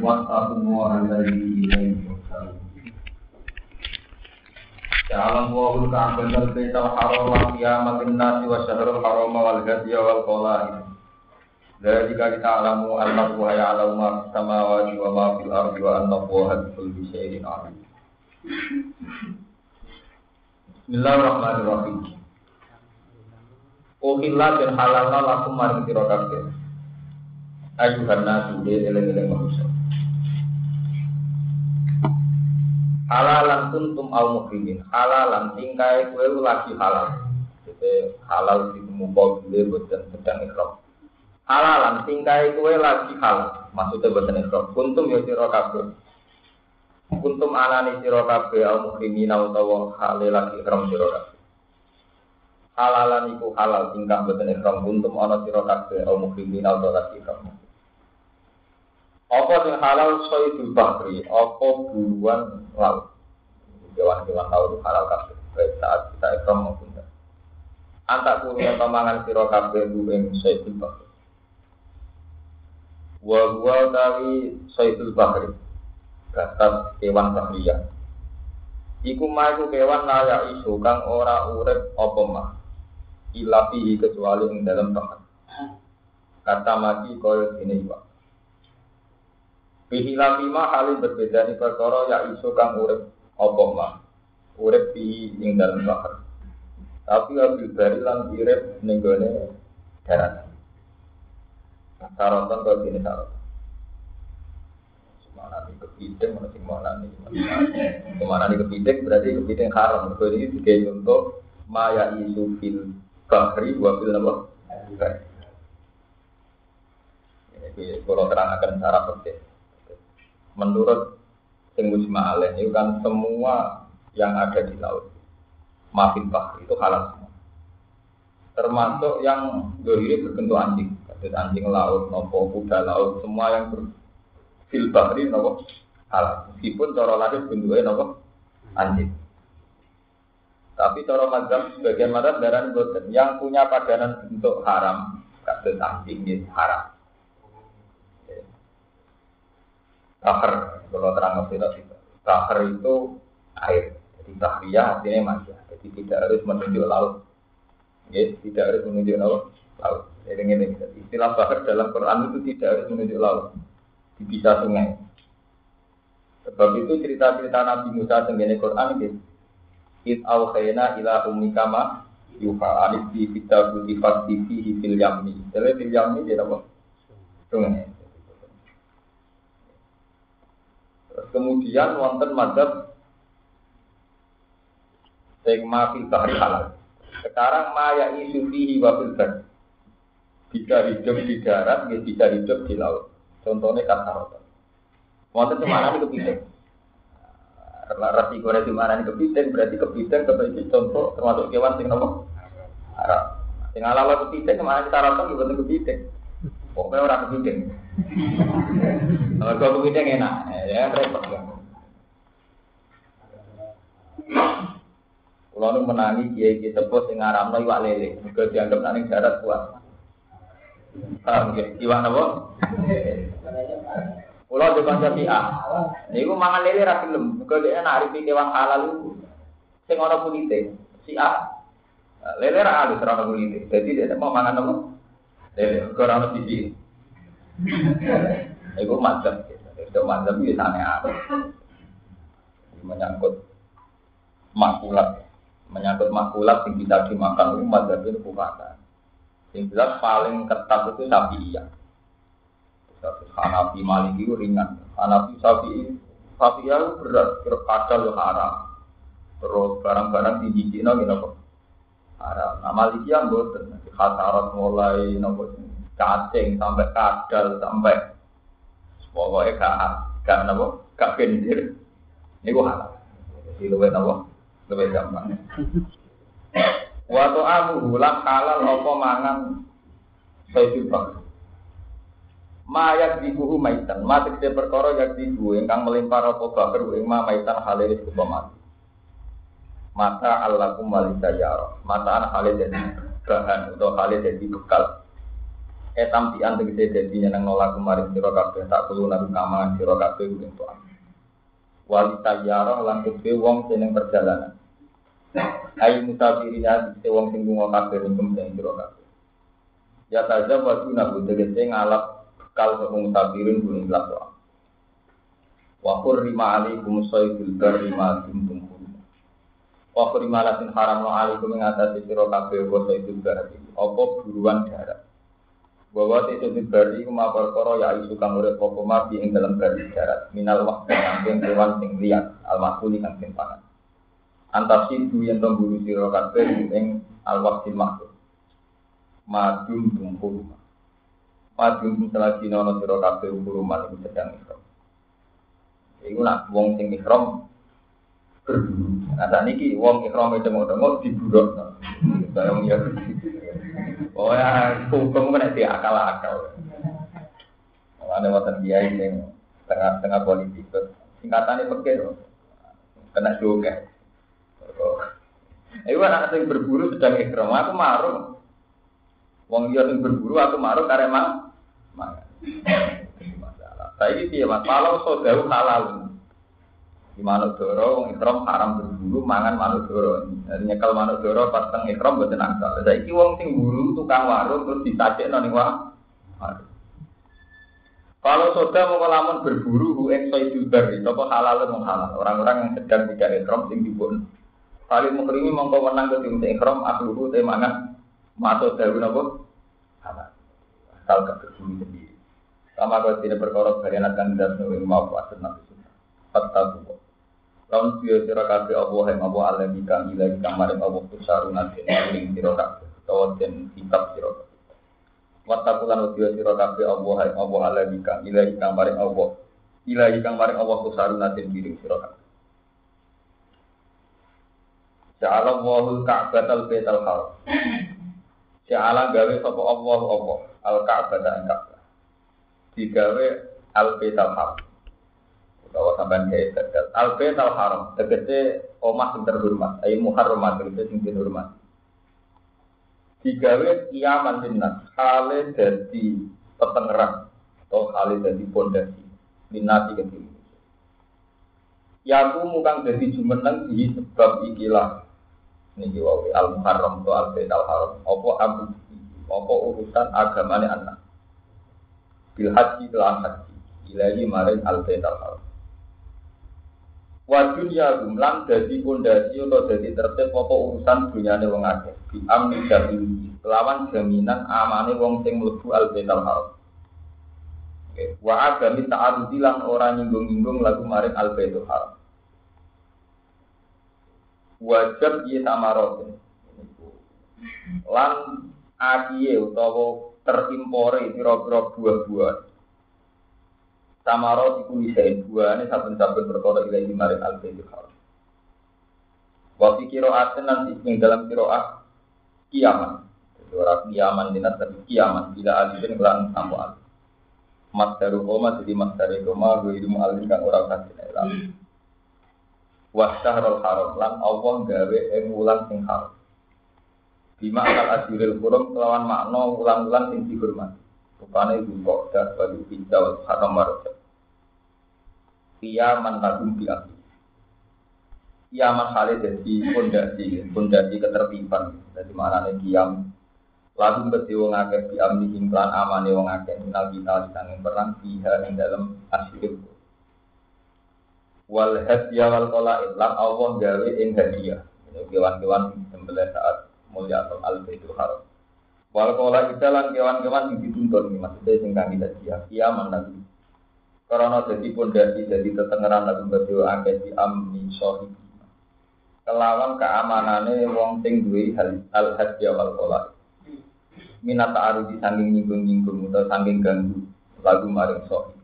Wattaqullaha alladzi ilaihi tuhsyarun. Ja'ala Allahu al-Ka'bata al-Baital Harama qiyaman lin-nasi wa syahrul harama wal hadiya wal qala'id. Dzalika lita'lamu anna Allaha ya'lamu ma fis samawati wa ma fil ardi wa anna Allaha bikulli syai'in 'alim. Bismillahirrahmanirrahim. Uhilla dan halalna lakum maring sira kabeh. Ayuhan nasu eleng-eleng manusia. Halalan kuntum au muhrimin. Halalan tingkai kowe lagi halal. Jadi halal dimumpul dhewe boten sedang ikram. Halalan tingkai kowe lagi halal. Maksudnya boten ikram. Kuntum ya sira kabeh. Kuntum anani sira kabeh au muhrimin utawa halal lagi ikram sira kabeh. Halalan iku halal tingkah boten ikram kuntum ana sira kabeh au muhrimin utawa lagi ikram. Apa yang halal soidul bahri, apa buruan laut. Hewan-hewan laut itu halal kabeh. Baik saat kita ikram maupun tidak. Antak kuliah pamangan sira kabeh ing soidul bahri. Wa huwa tawi soidul bahri. Gatas kewan bahriyah. Iku maiku kewan layak isu kang ora urip apa mah. Ilapi kecuali ing dalam bahar. Kata mati kaya dene iwak. Bihilafima halin berbeda di perkara ya isu kang urip apa mah urip di ing dalam bahar tapi abil bari lan urip ning gone darat syaratun kok dene syarat semana iki kepiting ana sing mana iki kepiting berarti kepiting haram mergo iki digawe contoh maya isu fil bahri wa fil nama ini kalau terangkan cara penting. Menurut sing mujma' alaih itu kan semua yang ada di laut mafil bahri itu halal semua. Termasuk yang dohiri berbentuk anjing, anjing laut, nopo kuda laut, semua yang berfil bahri nopo halal. Meskipun cara lahir bentuknya nopo anjing. Tapi cara mazhab sebagian mazhab darah boten yang punya padanan bentuk haram, kados anjing ini haram. Bahar, kalau terang tidak. Bahar itu air, jadi bahriyah artinya masih. Jadi tidak harus menunjuk laut, ya, tidak harus menunjuk laut. Jadi ini istilah bahar dalam Quran itu tidak harus menunjuk laut, bisa sungai. Sebab itu cerita-cerita Nabi Musa tentang Quran ini. It awhayna ila ummika ma yuha alif bi kitabul ifati fihi fil yammi. Jadi fil yammi dia apa? Sungai. Kemudian wonten madzhab sing mafil bahri halal. Sekarang maya isu fihi wa fil bar. Bisa hidup di darat, bisa hidup di laut. Contohnya kasarota. Wonten cemana ini kepiting. Resiko cemana ini kepiting berarti kepiting sebagai contoh termasuk kewan sing nopo haram. Sing halal kepiting cemana kita rasa bukan kepiting. Pokoknya orang kepiting. Kalau kepiting enak, ya repot ya. Kalau nu menangi kiai sebut sing ngaramno iwak lele, mergo dianggap nang darat kuat. Paham nggih? Iwak napa? Kula di kanca Syiah. Niku mangan lele ra gelem, mergo dhek naripi kewan halal sing ana kulite. Syiah. Lele ra halus ra ana kulite. Dadi dhek mau mangan napa? Lele ora ono siji. Iku madzhab. Itu madzhab iki aneh-aneh. Menyangkut makulat yang bisa dimakan itu madzhab itu bukan. Yang jelas paling ketat itu Syafi'iyah. Hanafi Maliki itu ringan. Hanafi Syafi'iyah itu berat, kadal itu haram. Terus barang-barang dijijikna gitu haram. Nah Malikiyah mboten, khasarat mulai nopo cacing sampai kadal sampai pokoknya gak gendir. Ini gua halal. Jadi luwih napa? Luwih gampang. Wa ta'amu lan halal apa mangan sayyid bang. Mayak dibuhu maitan, mati te perkara yak dibu ingkang melimpar apa bakar ing maitan halal iku mati. Mata Allakum walisayara. Mataan halal dadi bahan atau halal dadi bekal. Tampian tegese dadi nang nolak kemarin sira kabeh tak kulo nang kamangan sira kabeh untuk walita yara lan kedhe wong sing perjalanan. Ayo mutafirin ati wong sing lunga kabeh ing sing sira kabeh. Ya tajam wa nabu tegese ngalap bekal wong mutafirin kuwi lakwa. Wa qurrima alaikum saydul barri ma kuntum hurum. Wa qurrima latin haram alaikum ing atase sira kabeh wa saydul barri. Apa buruan darat. Bahwa itu diberi kuma perkara ya isu kang urip apa mati ing dalam garis darat minal waqti kang kewan sing liat al-makuli kang pangan antasidu yen to guru sira kabeh ing al-waqti maksud madum tungkul madum selagi nono sira kabeh ukuruman iku sedang ihram iku nak wong sing ihram berburu nah saniki wong ihram tengok-tengok diburukno kaya wong ya oh ya, hukum kan itu akal-akal. Ada watan kiai yang tengah politik, singkatannya pakai kena juga. Iku anak sing berburu sedang ikram, aku marung. Wong dia sing berburu, aku marung karena mangan. Masalah. Saya ini mas, kalau saudara halal, di manuk doro, wong ikram haram berburu, mangan manuk doro. Nyekal manuk doro pas teng ikram boten asal. Saiki wong sing buru tukang warung terus disajekno ning warung. Kalau saudara mau lamun berburu ing saidul bari, apa halal mung halal. Orang-orang yang sedang tidak ikram sing dipun. Kali mukrimi mongko menang ke tim ikram akluhu te mangan masuk dalu napa? Halal. Asal berburu sendiri. Sama kau tidak perkara barian akan dasno ing mau asal nabi sunah. Fattaku. Lawan siya sira kabeh Allah yang Allah alami kang ilahi kang maring Allah kusaruna ing sira kabeh utawa den kitab sira kabeh. Wattaqulan siya sira kabeh Allah yang Allah alami kang ilahi kang maring Allah. Ilahi kang maring Allah kusaruna ing sira kabeh. Ja'ala Allahul Ka'batal Baitul Haram. Ja'ala gawe sapa Allah apa al-Ka'bata ing Ka'bah. Digawe al-Baitul Haram. Bahwa sampai kayak tegal al-bait al-haram tegese omah sing terhormat ayo muharramat tegese sing terhormat digawe kiaman dinnas hale dadi petengeran atau hale dadi pondasi minati kedhi ya aku mukang dadi jumeneng di sebab ikilah niki wae al-muharram to al-bait al-haram apa urusan agamane anak bil haji lan haji ilahi maring al-bait al-haram wa dunya gumlang dadi pondasi utawa dadi tertib apa urusan dunyane wong akeh bi amni dadi lawan jaminan amane wong sing mlebu al-baitul haram. Oke, wa agami ta'arudi lan ora nyinggung-nyinggung lagu maring al-baitul haram. Wajib ye tamaroten. Lan akiye utawa terimpore pira-pira buah-buah Samaro iku isain buahane saben-saben perkara ilahi maring al-baitul haram. Wa fi qira'atin lan ing dalam qira'ah kiamat. Jadi ora kiamat dinat tapi kiamat bila alifin lan tampo alif. Masdaru koma jadi masdare koma wa ilmu alif kang ora kasih ilang. Wa syahrul haram lan Allah gawe ing wulan sing haram. Bima al-ajrul hurum kelawan makna wulan-wulan sing dihormati. Rupane kok dah bagi hijau haram marot. Kiaman lagum biak. Kiaman hale dadi pondasi ketertiban. Dadi maknane kiam lagum beti wong akeh biamni implan amane wong akeh minal kita disanging perang biha ing dalem asyik. Wal hadiah wal qalaid lan Allah gawe ing hadiah. Kewan-kewan sembelih saat mulya al-baitul haram. Wal kola kita lan kewan-kewan yang dituntun ini maksudnya sing kang hadiah kiaman nanti. Karena jadi pondasi jadi tetengeran lagu berdua akeh di amni sohibi. Kelawan keamanane wong sing duwe al hadiah wal kola. Minat ta'arudi saking nyinggung-nyinggung atau saking ganggu lagu maring sohibi.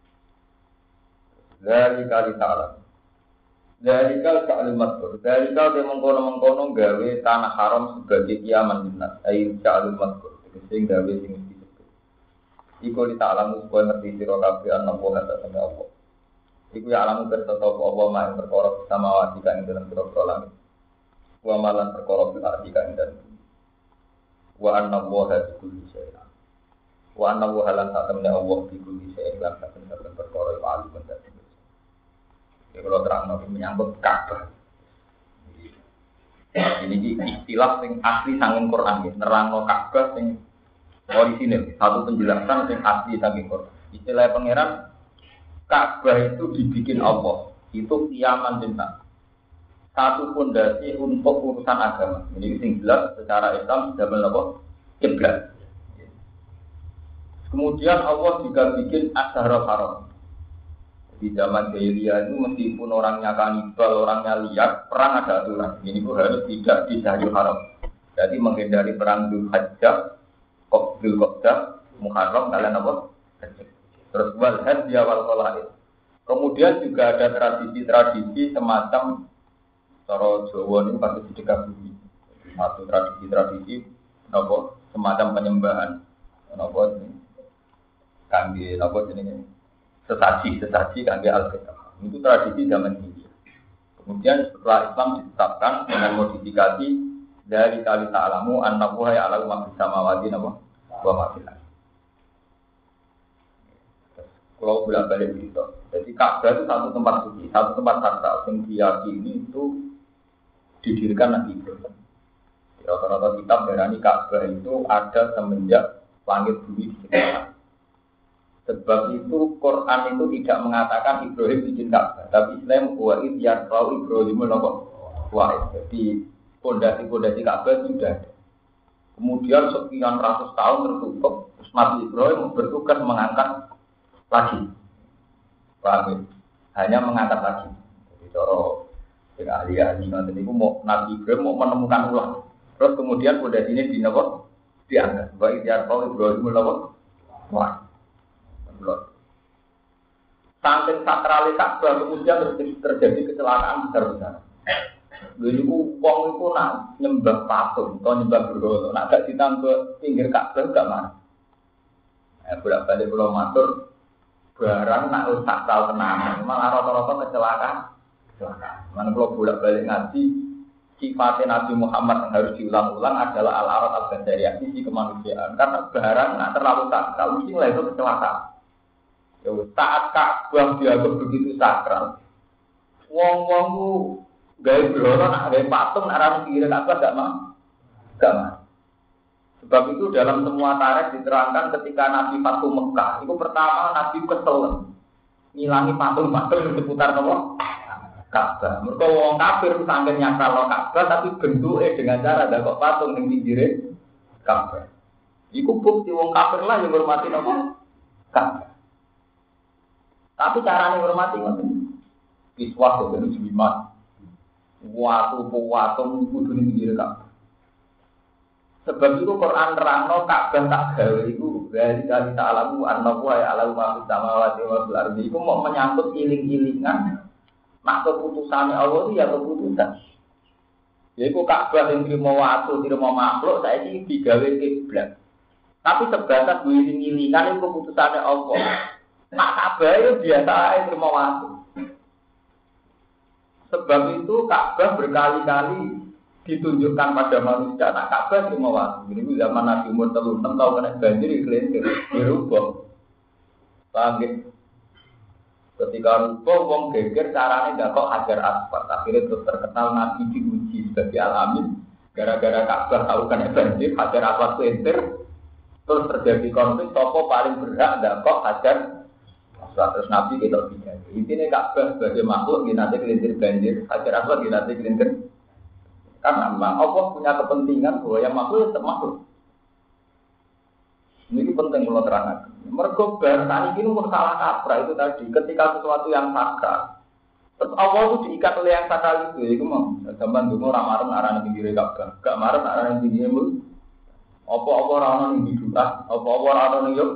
Dari kali ta'ala. Dari kal kalimat tur, dari kal dia mengkono gawe tanah haram sebagai kiaman dinas, air kalimat tur, sing gawe sing disebut. Iku di ta'alamu supaya ngerti sira kabeh ana wa kata sama Allah. Iku ya alamu berserta Allah maing perkara sama wati kang dalam pira-pira langit. Wa malan perkara bil ardi kang dalam. Wa anna wa kulli syai'in. Wa anna wa halan ta'tamna Allah bi kulli syai'in lan saben-saben perkara iku alim lan dadi. Ya kalau terang menyangkut Ka'bah. Ini istilah sing asli saking Quran ya, nerangno Ka'bah sing orisinil, satu penjelasan sing asli saking Quran. Istilah pangeran Ka'bah itu dibikin Allah, itu kiaman bintang. Satu fondasi untuk urusan agama. Ini sing jelas secara Islam sudah apa? Kiblat. Kemudian Allah juga bikin Asharul Haram. Di zaman jahiliyah itu meskipun orangnya kanibal, orangnya liar, perang ada aturan. Ini pun harus tidak di Syahrul Haram. Jadi menghindari perang Dzulhijjah, Dzulqa'dah, Muharram, kalian apa? Terus wal hadya wal qalaid. Kemudian juga ada tradisi-tradisi semacam cara Jawa ini pasti sedekah bumi. Satu tradisi-tradisi apa? Semacam penyembahan. Apa ini? Kangge apa jenenge? Sesaji kangge al-Fatihah. Itu tradisi zaman ini. Kemudian setelah Islam ditetapkan dengan modifikasi dari kali ta'alamu annahu ya'lamu ma fis samawati wa ma fil ardh. Kalau bolak-balik gitu. Jadi Ka'bah itu satu tempat suci, satu tempat sakral yang diyakini itu didirikan Nabi Ibrahim. Rata-rata kitab berani Ka'bah itu ada semenjak langit bumi diciptakan. Sebab itu Quran itu tidak mengatakan Ibrahim bikin Ka'bah, tapi Islam wa id yarfa'u Ibrahim al-Qawa'id. Jadi pondasi-pondasi Ka'bah sudah ada. Kemudian sekian ratus tahun tertutup, Nabi Ibrahim bertugas mengangkat lagi. Paham? Hanya mengangkat lagi. Jadi cara ahli-ahli nanti itu mau Nabi Ibrahim mau menemukan ulang. Terus kemudian pondasi ini diangkat. Wa id yarfa'u Ibrahim al-Qawa'id. Saking sakrali Ka'bah kemudian terjadi kecelakaan besar-besar. Jadi wong itu nak nyembah patung atau nyembah berhala, nak gak ditambah pinggir Ka'bah gak mana. Bolak-balik pulau matur barang nak sakral tenan, malah rata-rata kecelakaan. Mana kalau bolak-balik ngaji sifatnya Nabi Muhammad yang harus diulang-ulang adalah al-arat al-basyariyah, sisi kemanusiaan. Karena barang nak terlalu sakral mesti lah itu kecelakaan. Ya, saat Ka'bah dianggap begitu sakral, wong-wong ku gawe berhala nak gawe patung nak ra mikir Ka'bah gak mau. Sebab itu dalam semua tarikh diterangkan ketika Nabi Fatu Mekah, itu pertama Nabi kesel ngilangi patung-patung di seputar nopo Ka'bah. Mergo wong kafir saking nyakral Ka'bah tapi bentuke dengan cara ndakok patung ning pinggire Ka'bah. Iku bukti wong kafir lah yang hormati nopo Ka'bah. Tapi caranya hormati ngoten. Kiswah itu jimat. Watu kudu ning pinggir Ka'bah. Sebab itu Quran nerangno Ka'bah tak gawe iku dari kali ta'alamu annahu ya'lamu ma fis samawati wa fil ardi. Iku mau menyangkut iling-ilingan mak keputusane Allah itu ya keputusan. Yaiku Ka'bah yang terima watu, terima makhluk saiki digawe kiblat. Tapi sebatas iling-ilingan itu keputusane Allah. Nak Ka'bah itu biasa aja terima waktu. Sebab itu Ka'bah berkali-kali ditunjukkan pada manusia. Nak Ka'bah terima waktu. Ini zaman Nabi umur 36 tahun kena banjir kelintir, dirubah. Paham ya? Ketika rubah, wong geger caranya nggak kok hajar asfalt. Akhirnya terus terkenal Nabi diuji sebagai alamin. Gara-gara Ka'bah tahu kena banjir, hajar asfalt kelintir. Terus terjadi konflik. Sopo paling berhak nggak kok hajar. Terus Nabi kita bicara. Intinya Ka'bah sebagai makhluk nanti kelintir banjir, hajar aswad nanti kelintir. Karena memang Allah punya kepentingan bahwa yang makhluk tetap makhluk. Ini penting kalau terangkan. Mergo bahasa ini pun salah kaprah itu tadi. Ketika sesuatu yang sakral, terus Allah itu diikat oleh yang sakral itu mau. Zaman dulu orang marah arah pinggir Ka'bah, gak marah arah pinggir mul. Apa orang yang hidup, apa orang yang yuk.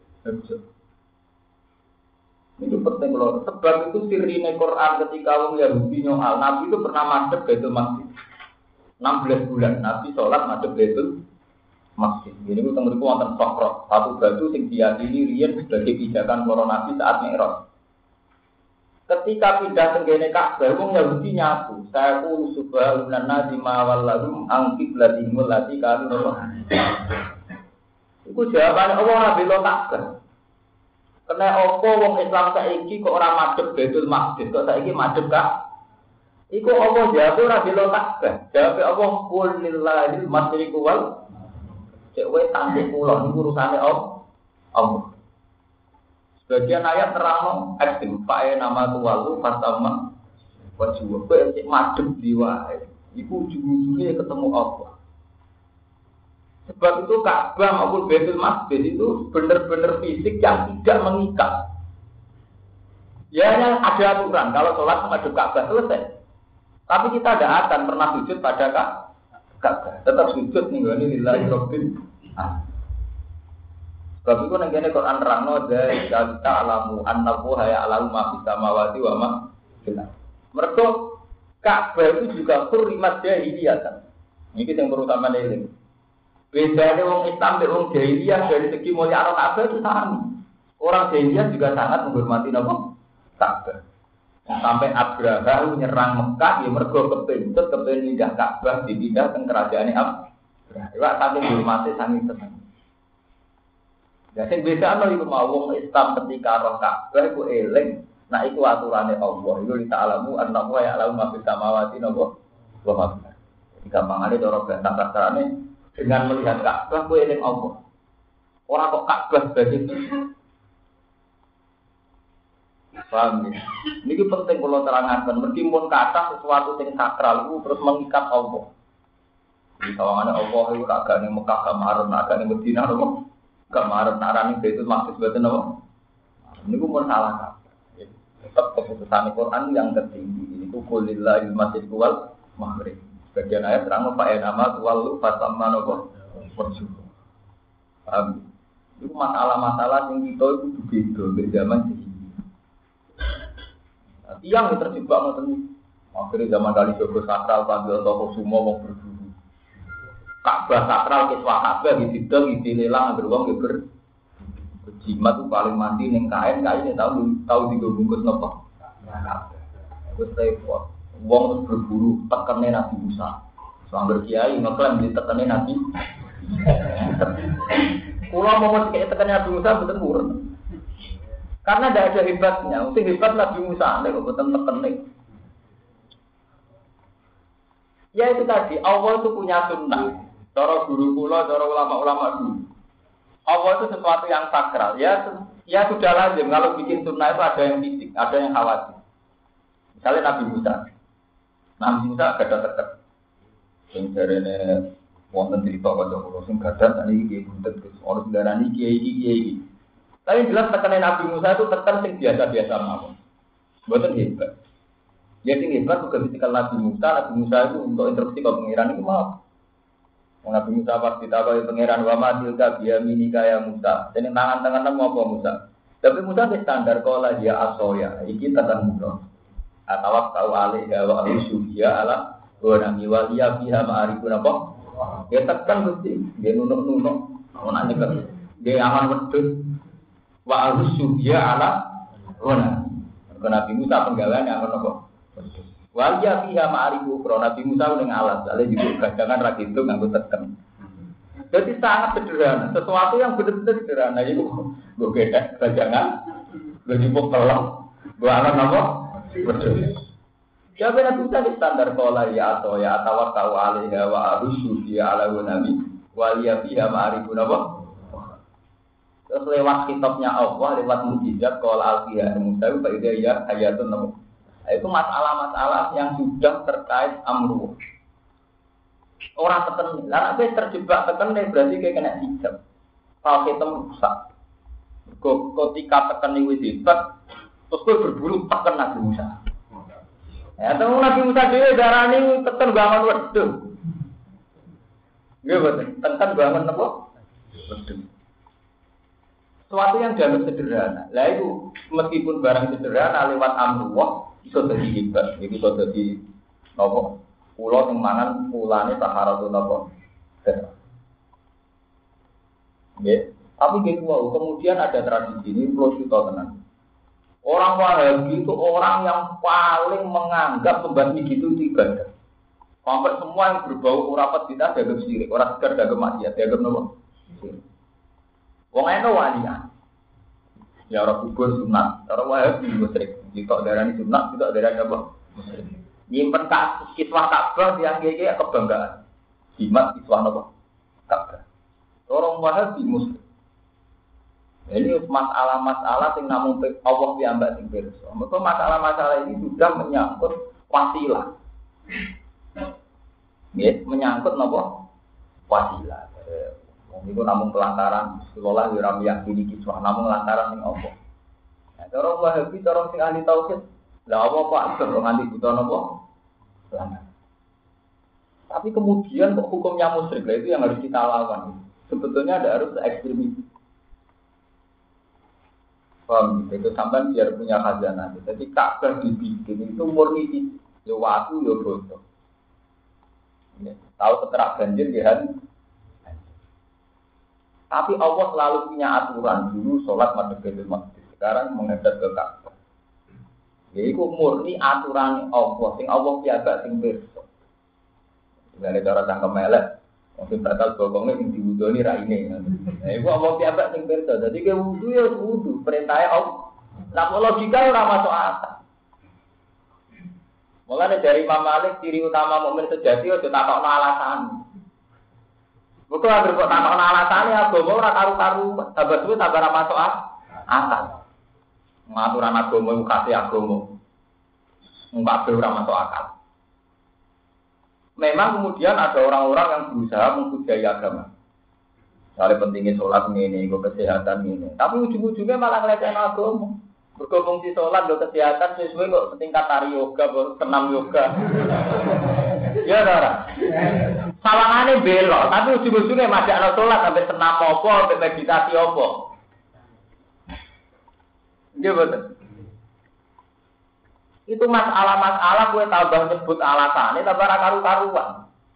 Itu penting loh. Sebab itu sirine Quran ketika orang Yahudi nyoal Nabi itu pernah madhep Baitul Maqdis 16 bulan Nabi sholat madhep Baitul Maqdis. Ini itu tengeriku wonten sokro satu batu yang diyakini riyen sebagai pijakan para Nabi saat Mi'raj. Ketika pindah tenggene Ka'bah orang Yahudi nyapu saya qulu subhanallah di mawallahum an qiblatihim allati kanu. Iku jawabane Allah ora bela Ka'bah. Kena apa wong Islam saiki kok ora madhep Baitul Maqdis, kok saiki madhep Ka'bah? Iku Allah jawab ora bela Ka'bah. Jawab Allah qul lillahil masyriqu wal cek wae tangke kula niku urusane Allah. Sebagian ayat terang ekstrim, pae nama tuwalu fatama wajib kowe cek madhep diwae. Iku ujung-ujungnya ketemu Allah. Sebab itu Ka'bah maupun Baitul Maqdis itu benar-benar fisik yang tidak mengikat. Ya hanya ada aturan kalau sholat menghadap Ka'bah selesai. Tapi kita tidak akan pernah sujud pada Ka'bah. Tetap sujud nih ini lillahi rabbil alamin. Sebab itu nengkene Quran terangno dari kita alamu annahu ya'lamu ma fis samawati wa ma fil ardh. Mergo Ka'bah itu juga hurrimat jahiliyah kan. Ini yang terutama ini. Bedanya wong Islam dan wong jahiliyah dari segi mulia Ka'bah itu sama. Orang jahiliyah juga sangat menghormati Ka'bah. Sampai Abraha menyerang Mekah, ya mergo kepintut pindah Ka'bah dipindah ke kerajaan Abraha. Iwak sampai menghormati sangat senang. Ya sing bedane iku mau wong Islam ketika roh Ka'bah iku eling, nah iku aturane Allah. Iku ta'alamu annahu ya'lamu ma fis samawati wa ma fil ardh. Gampangane cara bahasa kasarane dengan melihat Ka'bah kowe eling Allah. Ora kok Ka'bah sebagai paham ya? Ini penting kalau terangkan. Meskipun kata sesuatu yang sakral itu terus mengikat Allah. Di kawangannya Allah itu agak nih Mekah kemarin, agak nih Medina, kemarin narani itu maksud betul apa? Ini pun salah. Tetap keputusan Quran yang tertinggi. Ini kulillahil masyriqu wal maghrib. Bagian ayat terang Pak nama tuwalu fatamma nopo bersyukur. Itu masalah-masalah yang kita itu begitu di zaman ini. Tiang yang terjebak ngoten. Akhirnya zaman kali Joko sakral panggil toko semua mau berburu. Ka'bah sakral ke Ka'bah ditidang dilelang ambil uang ber. Jimat itu paling mandi ning kain tahu digabungkus nopo. Wis repot. Wong terus berburu tekene Nabi Musa. Sambil kiai ngeklaim ditekene Nabi. Kula mau kayak tekene Nabi Musa betul murun. Karena tidak ada hebatnya, mesti hebat Nabi Musa, nek boten tekene. Ya itu tadi, Allah itu punya sunnah. Cara guru kula, cara ulama-ulama dulu. Allah itu sesuatu yang sakral. Ya sudah lazim kalau bikin sunnah itu ada yang fisik, ada yang khawatir. Misalnya Nabi Musa. Nabi Musa gadah tekad. Sing jarene wonten cerita kanca kula sing gadah tadi iki buntet ora darani kiai. Tapi jelas tekanan Nabi Musa itu tekan sing biasa-biasa mawon. Mboten hebat. Ya sing hebat juga ketika Nabi Musa itu untuk instruksi ke pangeran itu mau. Nabi Musa pas ditawahi pangeran wa ma tilka biyaminika ya Musa. Dene tangan-tangan apa Musa? Tapi Musa di standar kala dia asoya. Iki tekan Musa. Atawak tau alih wa usyuya ala wa nami waliya biha ma'arifun apa? Ya tekan Gusti. Dia nunuk-nunuk. Ono nyekel. Dia aman wedhus. Wa al-syuhya ala wana. Nabi Musa penggaweane akan apa? Wa ya fiha ma'arifu ukra. Nabi Musa ning alas, ale juga gadangan ra gitu nganggo teken. Jadi sangat sederhana, sesuatu yang benar-benar sederhana itu nggo gedhe gadangan, nggo jupuk telong, nggo alan apa? Betul. Jabe Nabi Musa di standar qala ya atau ya tawakkal alaiha wa al-syuhya ala nabi wa ya fiha ma'arifu apa? Terus lewat kitabnya Allah, lewat mukjizat kalau al-Qiyah Musa itu pada ya ayatun namu. Itu masalah-masalah yang sudah terkait amruh. Orang teken, karena saya terjebak teken berarti kayak kena hijab. Kalau kita rusak, ketika teken itu hebat, terus gue berburu teken Nabi Musa. Ya, temu Nabi Musa dia darah ini teken bangun wedus. Gak betul, teken bangun apa? Wedus. Sesuatu yang dianggap sederhana. Lah itu meskipun barang sederhana lewat amrullah iso dadi hebat. Iki iso dadi napa? Kula sing mangan pulane taharatun napa? Nggih. Tapi gitu kemudian ada tradisi ini perlu kita tenang. Orang Wahabi itu orang yang paling menganggap membasmi gitu itu ibadah. Hampir semua yang berbau urapat kita dianggap syirik, orang sekedar dianggap maksiat, dianggap napa? Wong eno walian. Ya orang kubur sunat, orang Wahabi musyrik. Kita darani sunat, kita darani apa? Musyrik. Nyimpen kiswah Ka'bah yang kaya kebanggaan. Jimat kiswah apa? Ka'bah. Orang Wahabi musyrik. Ini masalah-masalah yang namun Allah diambil sing pirsa. Maka masalah-masalah ini sudah menyangkut wasilah. Ya, menyangkut napa? Wasilah. Itu namun pelantaran sekolah yang yakini kiswah namun lantaran yang Allah. Nah, orang Wahabi, orang sing ahli tauhid, lah apa orang ahli buta napa? Pelanggaran. Tapi kemudian kok hukumnya musyrik, lah itu yang harus kita lawan. Sebetulnya ada harus ekstremis. Paham? Itu sampai biar punya khazanah. Jadi Ka'bah dibikin itu murni di waktu ya bodoh. Tahu seterak banjir ya. Tapi Allah selalu punya aturan dulu sholat madhep Baitul Maqdis. Sekarang menghadap ke Ka'bah. Yaitu murni aturan Allah. Sing Allah piagak sing pirsa. Dengan cara cangkem elek, mungkin batal bokongnya yang diwudoni raine. Nah, itu Allah piagak sing pirsa. Jadi ke wudu ya wudu. Perintahnya Allah. Nah, logika ora masuk akal. Mulane dari Imam Malik ciri utama mukmin sejati aja takokno alasan. Bukan agar kok takokno alasane agama ora karu-karu, tambah suwe tambah ora masuk akal. Ngaturan agama iku kasih agama. Mbak ora masuk akal. Memang kemudian ada orang-orang yang berusaha membudayai agama. Soalnya pentingnya sholat ini, kesehatan ini. Tapi ujung-ujungnya malah ngelecehkan agama. Bergabung di sholat, kesehatan sesuai kok setingkat tari yoga, senam yoga. Ya ora. Sawangane belok, tapi ujung-ujungnya masih ana sholat sampai senam apa, sampai meditasi apa. Nggih betul. Itu masalah-masalah kowe tambah nyebut alasane tambah ra karu-karuan.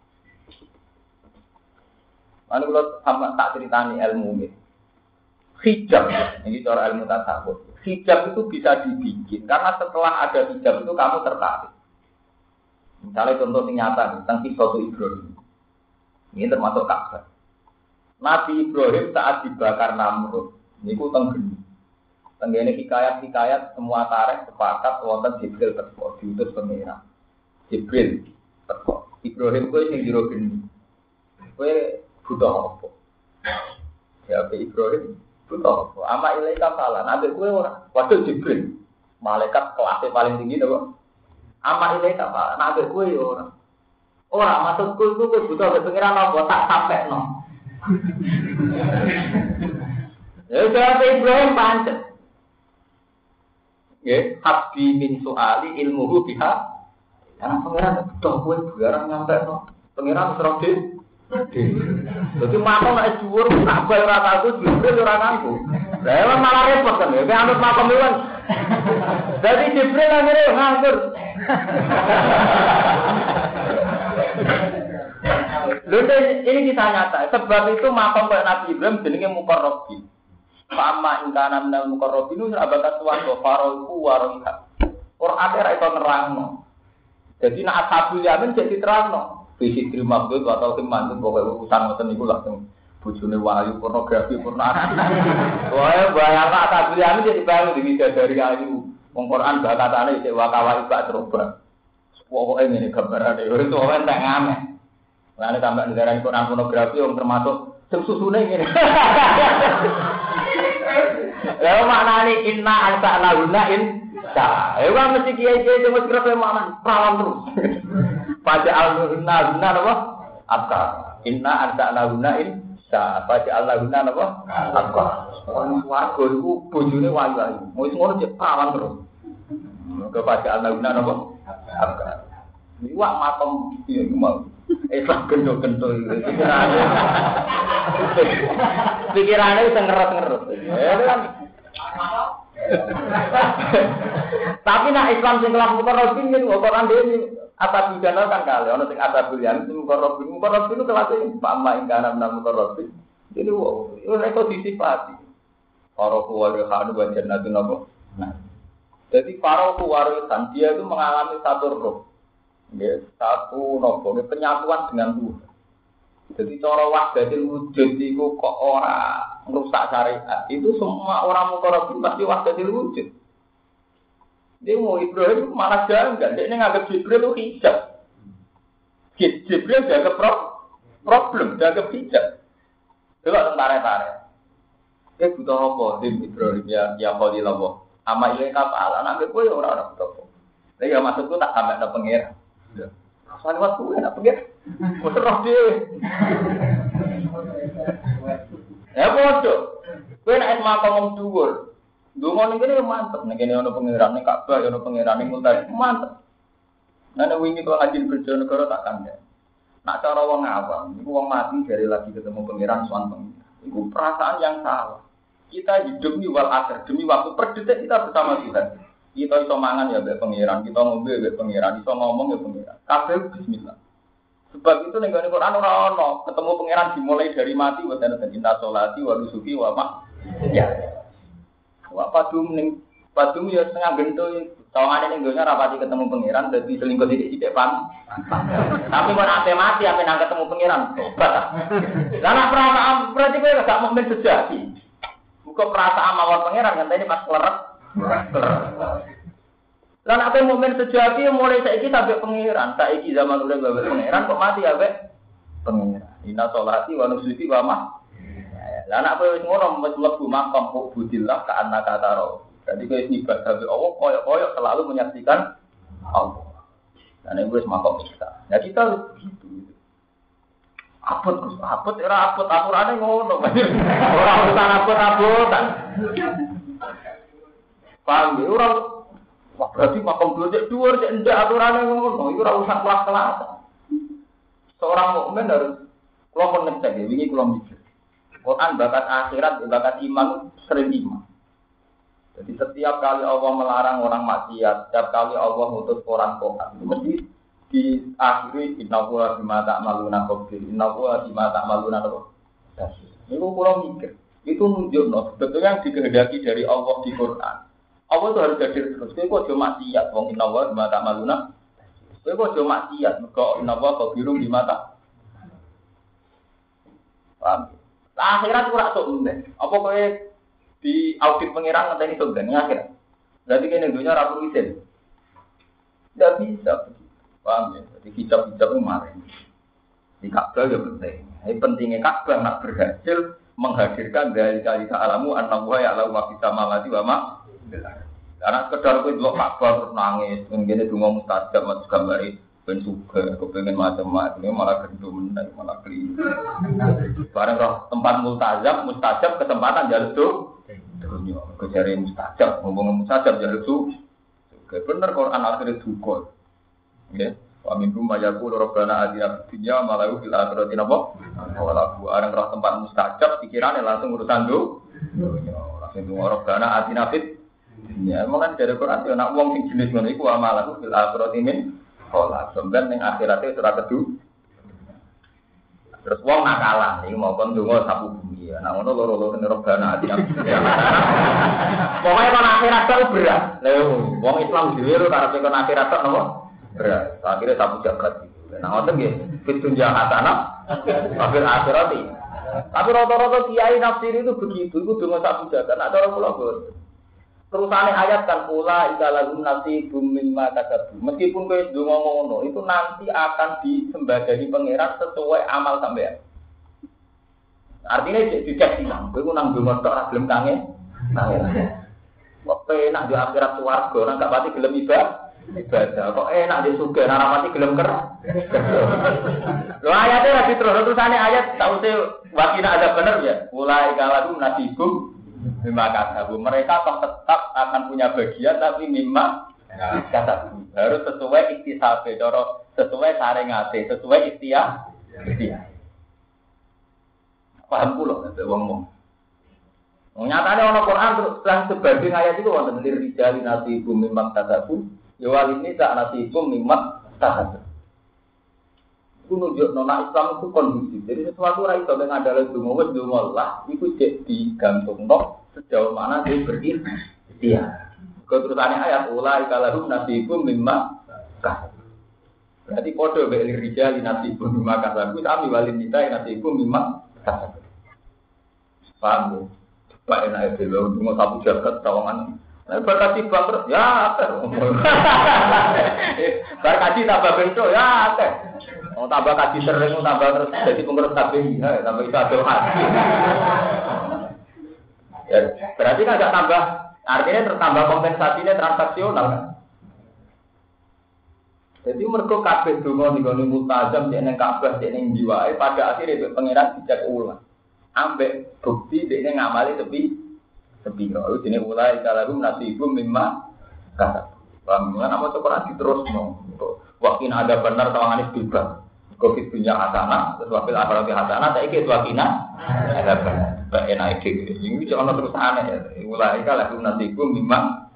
Anu kula sama tak ceritani ilmu iki. Hijab, ini cara ilmu tasawuf. Hijab itu bisa dibikin karena setelah ada hijab itu kamu tertarik. Misalnya contoh yang nyata tentang kisah Ibrahim. Ini termasuk Ka'bah. Nabi Ibrahim saat dibakar Namrud, ini ku tenggeni. Tenggeni hikayat-hikayat semua tarikh sepakat wonten Jibril teko diutus pengira. Jibril teko. Ibrahim kuwi sing jero geni. Kowe butuh apa? Ya Ibrahim butuh apa? Ama ilaika salah. Nabi kowe ora. Waduh Jibril. Malaikat kelasnya paling tinggi to. Ama ilaika salah. Nabi kowe ora. Ora maksudku itu kowe butuh pengiran apa tak sampekno. Ya jawab Ibrahim pancet. Nggih, habbi min suali ilmuhu biha. Karena pengiran butuh kowe barang nyampekno. Pengiran terus jadi makom nek dhuwur tak bae ora tahu Jibril ora ngaku. Lah malah repot kan ya, anut makom iwan. Jadi Jibril akhirnya nganggur. Lalu ini kita nyata, sebab itu makom kayak Nabi Ibrahim jenenge muqarrabin. Fama ingkana minal muqarrabin itu abakat suwarga faroiku waroiha. Qur'an ora iso nerangno. Jadi nek ashabul yamin jadi terangno. Visi terima itu atau kemantu pokoknya urusan ngoten niku langsung bojone wahyu pornografi pornografi. Wah, bayangna ashabul jadi bangun di dari ayu. Wong Quran bakatane cek wakawa ibak coba. Pokoke ngene gambarane itu ora entek ngame. Lah nek tambah negara Quran pornografi yang termasuk sing susune ngene. Lah maknane inna ansa'na in sa. Ewa mesti kiai-kiai cuma kira makna perawan terus. Pada al-guna apa? Apa? Inna ansa'na in sa. Pada al-guna apa? Apa? Warga itu bojone wayu-wayu. Mau ngono cek perawan terus. Kepada al-guna apa? Apa? Ini wak matom iya mau. Islam gendok-gendok itu. Pikirannya bisa ngerot-ngerot. Ya kan. Tapi nak Islam sing kelas mukarrabin itu Quran dhewe asal bidana kan kali ana sing asabul yang sing mukarrabin itu kelas pama ingkana nang mukarrabin. Jadi ora iso disifati. Para kuwarisan wa jannatun apa? Nah. Jadi para kuwarisan dia itu mengalami satu roh. Ya, satu nopo penyatuan dengan Tuhan. Jadi cara wahdatul wujud iku kok ora merusak syariat. Itu semua orang mukarrabin pasti wahdatul wujud. Dia mau Ibrahim malah janggal. Dia nganggap Jibril itu hijab. Jibril dianggap problem, dianggap hijab. Coba tentara-tentara. Butuh apa? Ibrahim ya Khalilullah. Ama iya kapal, anak gue ya orang-orang butuh. Tapi ya maksudku tak sampai ada pengira. Soalnya waktu gue ada pengira. Gue serah dia. Ya bodoh. Gue naik makam dhuwur. Dungo ning kene mantep, ning kene ana pangeran ning Ka'bah, ana pangeran ning Multazam, mantep. Nane wingi kok ajin Bojonegoro tak kandha. Nak cara wong awam, iku wong mati dari lagi ketemu pangeran sowan pengiran. Iku perasaan yang salah. Kita hidup di wal akhir demi waktu per detik kita bersama Tuhan. Kita iso mangan ya mbek pangeran, kita ngombe mbek pangeran, iso ngomong ya pangeran. Kabeh bismillah. Sebab itu ning Quran ora ono ketemu pangeran dimulai dari mati wa tanah cinta sholati wa nusuki wa ma. Ya. Wa padum ya setengah gento. Tawangane ning donya rapati ketemu pangeran dadi selingkuh sithik-sithik pan. Tapi kok nek mati ape nang ketemu pangeran tobat. Lah nek perasaan berarti kowe gak mukmin sejati. Muga perasaan mawon pangeran ngenteni pas kleret. Lah nek mukmin sejati mulai saiki sampai pangeran, saiki zaman udah babak pangeran kok mati ape pangeran. Inna sholati wa nusuki wa ma. Lah nek kowe wis ngono wis mlebu makam budillah ka annaka taro. Jadi kowe ibadah kepada Allah koyok-koyok selalu menyaksikan Allah. Dan itu makam kita. Ya kita harus begitu. Apot era apot aturannya ngono. Orang urusan apot-apotan. Paham ya? Orang wah berarti makam dua cek ndak aturannya ngono. Itu ora urusan kelas-kelas. Seorang mukmin harus kalau ngecek ya, wingi kula mikir. Quran bakat akhirat, bakat iman sering iman. Jadi setiap kali Allah melarang orang maksiat, setiap kali Allah ngutus orang tobat, mesti diakhiri innahu bima ta'maluna khabir, innahu bima ta'maluna basir. Niku kula mikir, itu nunjukno sebetulnya yang dikehendaki dari Allah di Quran. Allah itu harus hadir terus. Kowe aja maksiat, wong innahu bima ta'maluna. Kowe aja maksiat, mergo innahu khabirun bima ta'maluna. Paham? Akhirat ora sok ndek. Apa kowe di audit pengiran ngenteni surga akhirat. Berarti kene dunya ora perlu izin. Tidak bisa. Paham ya? Jadi hijab-hijab itu kemarin. Di Ka'bah ya penting. Ini pentingnya Ka'bah nak berhasil menghadirkan dari kali alamu an-nawwa ya'lamu ma fis samawati wa ma fil ardh. Karena sekedar kowe delok Ka'bah terus nangis, ngene donga mustajab mas gambare ben suka, kepengen macam-macam, malah gendum malah keliru. Barang roh tempat mustajab kesempatan jaluk tuh. Dunia, kejari mustajab, ngomong mustajab jaluk tuh. Bener Quran akhirnya duka. Ya, wa minhum mayaqulu rabbana atina fid dunya ma lahu fil akhirati napa? Wala barang roh tempat mustajab pikirane langsung urusan dunya. Langsung rabbana atina fid dunya. Mulane dari Quran yo nek wong sing jenis ngono iku wa ma lahu fil akhirati min kholak, sampeyan ning akhirate ora kedu. Terus wong nakalan iki mau kon donga sapu bumi. Nah ngono loro-loro nerobana ati. Pokoke kon akhirat tok berat. Lha wong Islam dhewe ora karepe kon akhirat tok napa? Berat. Akhire sapu jagat iki. Nah ngoten nggih, fitun jahatana akhir akhirati. Tapi rata-rata kiai nafsir itu begitu, itu donga sapu jagat. Nek cara kula bos. Terusane ayat kan pula ikalahum nasibum mimma kasabu. Meskipun kowe ndonga ngono, itu nanti akan disembadani pangeran sesuai amal sampean. Artinya dicek silang, kowe nang ndonga tok ora gelem tangi. Kok enak di akhirat swarga, nang gak pati gelem ibadah. Kok enak di surga, nang ora pati gelem ker. Lho ayate ora terusane ayat tause wakina ada bener ya. Pula ikalahum nasibum mimma kasabu. Mereka tetap akan punya bagian tapi mimma kasabu. Harus sesuai iktisabe, sesuai sarengate, sesuai ikhtiar. Paham kula nek wong-wong. Nyatane ana Quran terus lan sebanding ayat itu wonten rijali nasibum mimma kasabu, ya walini sak nasibum mimma kasabu. Itu nunjukno nek Islam itu kondusif. Jadi sesuatu ora iso ngandalke donga wis donga Allah iku cek digantungno sejauh mana dia berikhtiar. Keterusane ayat ulai kalahum nasibum mimma kasab. Berarti padha mek rijal nasibum mimma kasab. Sami walin nita nasibum mimma kasab. Paham? Coba enak dhewe mau sapu jagat tawangan. Nek berkati bangkrut ya akeh. Berkati tambah bentuk ya akeh. Mau tambah kaji sering tambah terus jadi pengurus kabeh ya tambah itu ada hati. Ya, berarti kan enggak tambah artinya tertambah kompensasinya transaksional kan. Jadi mergo kabeh donga nggone multazam nek Ka'bah nek jiwae pada akhirnya itu pangeran dicek ulang. Ambek bukti dekne ngamali sepi kok jenenge mulai kalarum nasibum mimma kata. Bagaimana nama Quran diterusno. Wakin ada benar tawangane bebas. Covid punya hasanah, terus wakil akhirat hasanah, saiki wakina ada benar. Bae enak iki. Iki ono terusane ya. Mulai kalarum nasibum mimma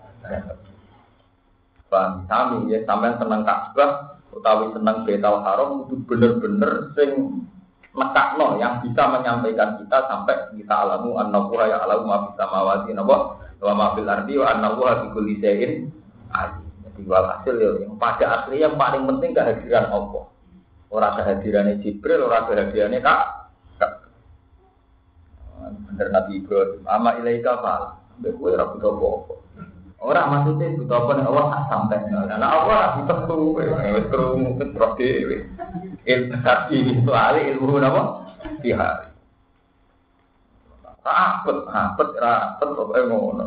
Bang, kami ya sampean seneng Ka'bah utawi seneng Baitul Haram itu bener-bener sing nekakno yang bisa menyampaikan kita sampai kita alamu annahu ya alamu ma fis samawati wa ma fil ardi wa annahu bi kulli syai'in alim. Jadi walhasil ya yang pada asli yang paling penting kehadiran Allah. Ora kehadirannya Jibril, ora kehadirannya Kak. Bener Nabi Ibrahim, ama ilaika fal. Mbek kowe ora butuh apa-apa. Orang maksudnya butuh apa nih Allah tak sampai. Karena Allah butuh tuh, terus terus dewi. Ilmu itu ahli ilmu apa? Tihari. Rapet, apa ngono.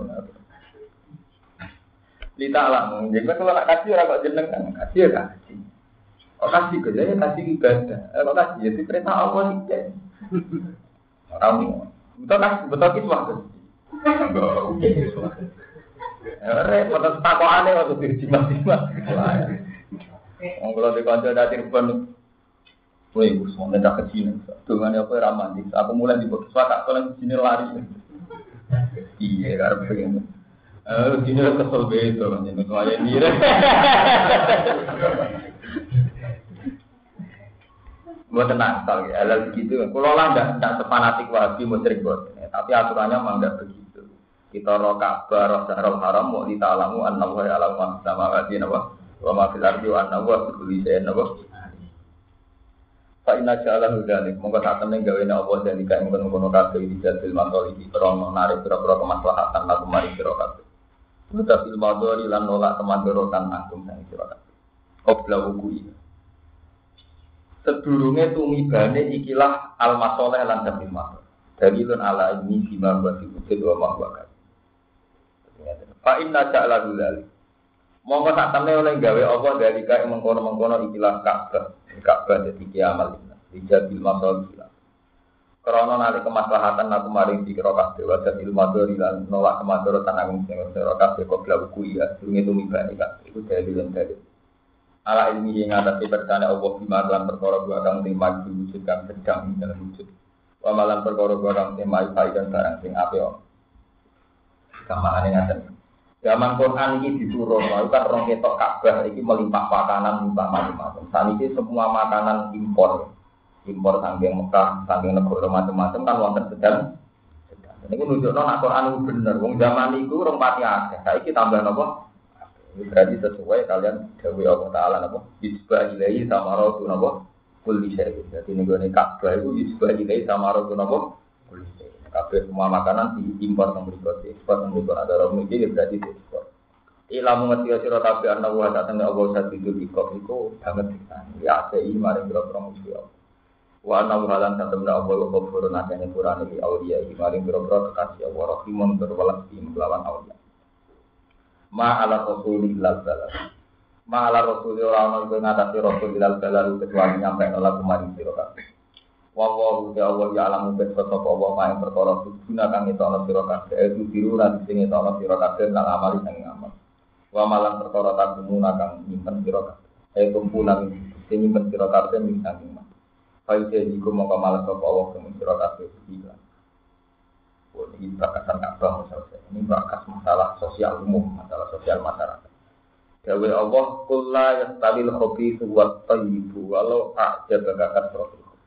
Lita alam, jadi kalau nak kasih orang kok jeneng kan kasih ya kasih. Oh kasih kerja kasih ibadah. Kalau kasih jadi perintah Allah sih. Orang betul kiswah kan. Repot takokane waktu dirjimat-jimat. Wong kula dikonco dadi rubon. Kowe wis ngene tak kecil. Dongane apa ora mandi. Aku mulai di box wakak kolen sini lari. Iya karep pengen. Dine kesel beto jenenge kaya dire. Buat tenang, kalau halal begitu, kalau lah tidak sepanatik Wahabi musyrik buat, tapi aturannya memang tidak begitu. Kita roh Ka'bah, roh Darul Haram, mau ditalamu, an-nawa ya alamu sama hati nawa, wa ma fil ardi wa an-nawa bikuli saya nawa. Fa inna ja'ala hudalik, mongko saat temen gawe na Allah dan dikain kono-kono kabeh di jadil matoliki, krono narik pira-pira kemaslahatan lagu mari sira kabeh. Muta fil madori lan nolak kemadorotan agung sang sira kabeh. Obla wuku sedurunge tumibane ikilah al-masoleh lan dabil masoleh. Dalilun ala ini bima wa wujud wa ma wa kan. Fa inna ja'ala dzalik. Monggo sak temne oleh gawe apa dari kae mengkono-mengkono ikilah Ka'bah. Ka'bah dadi kiamal iki. Dabil masoleh. Karena nalika kemaslahatan aku maring dikira kabeh wa dabil madori lan nolak kemadorotan agung sing ora kabeh kok blawuku ya. Sedurunge tumibane kabeh iku dalilun dalil. Ala ilmi yang atas percaya Allah bima dalam perkara dua kang sing maju wujud kang sedang dalam wujud. Wa malan perkara dua kang sing mai dan barang sing apik. Kamane ngaten. Zaman Quran iki diturun, kan rong ketok Ka'bah iki melimpah pakanan limpah macam-macam. Saniki semua makanan impor. Impor saking Mekah, saking negara macam-macam kan wonten sedang. Niku nunjukno nek Quran iku bener. Wong zaman iku rong pati akeh. Saiki tambah napa? Berarti sesuai kalian dawuh Allah Taala napa isbah ilahi samaratu napa kulli syai. Dadi ning gone Ka'bah iku isbah ilahi samaratu napa kulli syai. Kabeh semua makanan diimpor nang mriku, ekspor nang mriku ada ora mriki berarti ekspor. Ilamu ngerti sira kabeh ana wa satene Allah satu iku banget kita. Ya sei mari boro-boro musuh Allah. Wa ana halan satene Allah ghafurun akene Qur'an iki aulia iki mari boro-boro kekasih Allah rahimun berwelas ing lawan aulia. Ma ala rasulillah sallallahu ma ala rasulillah ora ono ing ngatasi rasulillah sallallahu kecuali nyampe nolak kemarin sira kabeh wa Allah ya alamu bet sapa wa ma ing perkara guna kang itu ana sira kabeh itu biru lan sing itu ana sira kabeh lan amali sing amal wa malan perkara tagumuna kang nyimpen sira kabeh kumpulan sing nyimpen sira kabeh ing saking mah faide iku mongko malas sapa Allah kang sira kabeh iki ini bakasan Ka'bah misalnya. Ini bakas masalah sosial umum, masalah sosial masyarakat. Dawe Allah kulla yastabil khabithu wat thayyibu walau a'jaba kasratul khabith.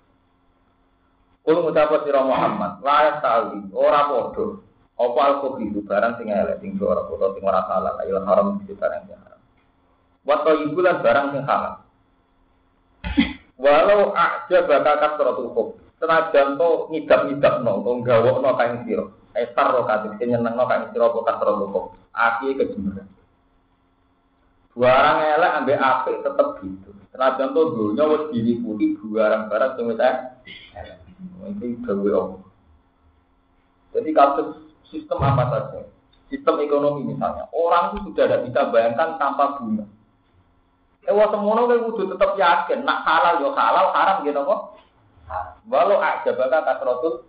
Kul ngucap sira Muhammad, la yastawi ora padha apa al-khabithu barang sing elek sing ora padha sing ora halal, ayo haram sing barang sing haram. Wat thayyibu lan barang sing halal. Walau a'jaba kasratul khabith. Senajan to ngidap-ngidapno, to gawokno kae sira. Esar ro kadhe nyenengno kae sira apa kasro kok. Aki kejemberan. Barang elek ambek apik tetep gitu. Senajan to dunya wis diliputi barang-barang sing wis elek. Iki gawe apa? Jadi kasus sistem apa saja? Sistem ekonomi misalnya, orang itu sudah tidak bisa bayangkan tanpa bunga. Semono kowe kudu tetep yakin, nak halal yo halal, haram gitu kok. Walau aja bakal kasrotul.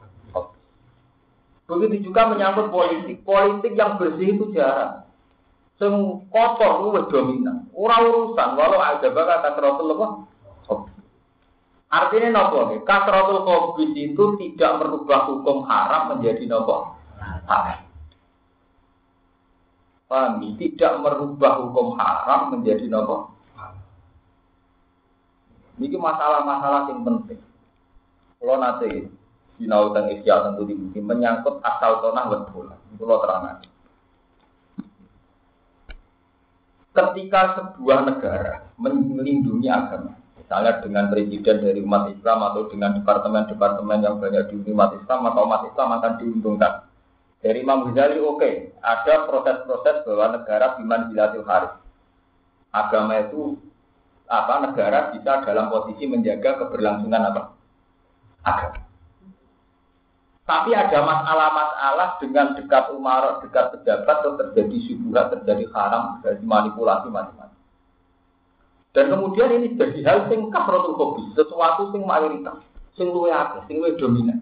Begitu juga menyangkut politik. Politik yang bersih itu jarang. Sing kotor lu dominan. Ora urusan walau aja bakal kasrotul apa? Artinya nopo nih? Kasrotul khobis itu tidak merubah hukum haram menjadi nopo halal. Paham? Tidak merubah hukum haram menjadi nopo. Ini masalah-masalah yang penting. Kalau nanti sinau dan ikhya tentu dibuat menyangkut asal tanah betul. Kalau terang. Ketika sebuah negara melindungi agama, misalnya dengan presiden dari umat Islam atau dengan departemen-departemen yang banyak di umat Islam, maka umat Islam akan diuntungkan. Dari Imam Ghazali oke, ada proses-proses bahwa negara biman bilatil haris. Agama itu negara bisa dalam posisi menjaga keberlangsungan agama. Tapi ada masalah-masalah dengan dekat umarok, dekat pejabat, terus terjadi syubhat, terjadi haram, terjadi manipulasi macam-macam. Dan kemudian ini jadi hal sing kasratul khobis, sesuatu sing mayoritas, sing luwih akeh, sing luwih dominan.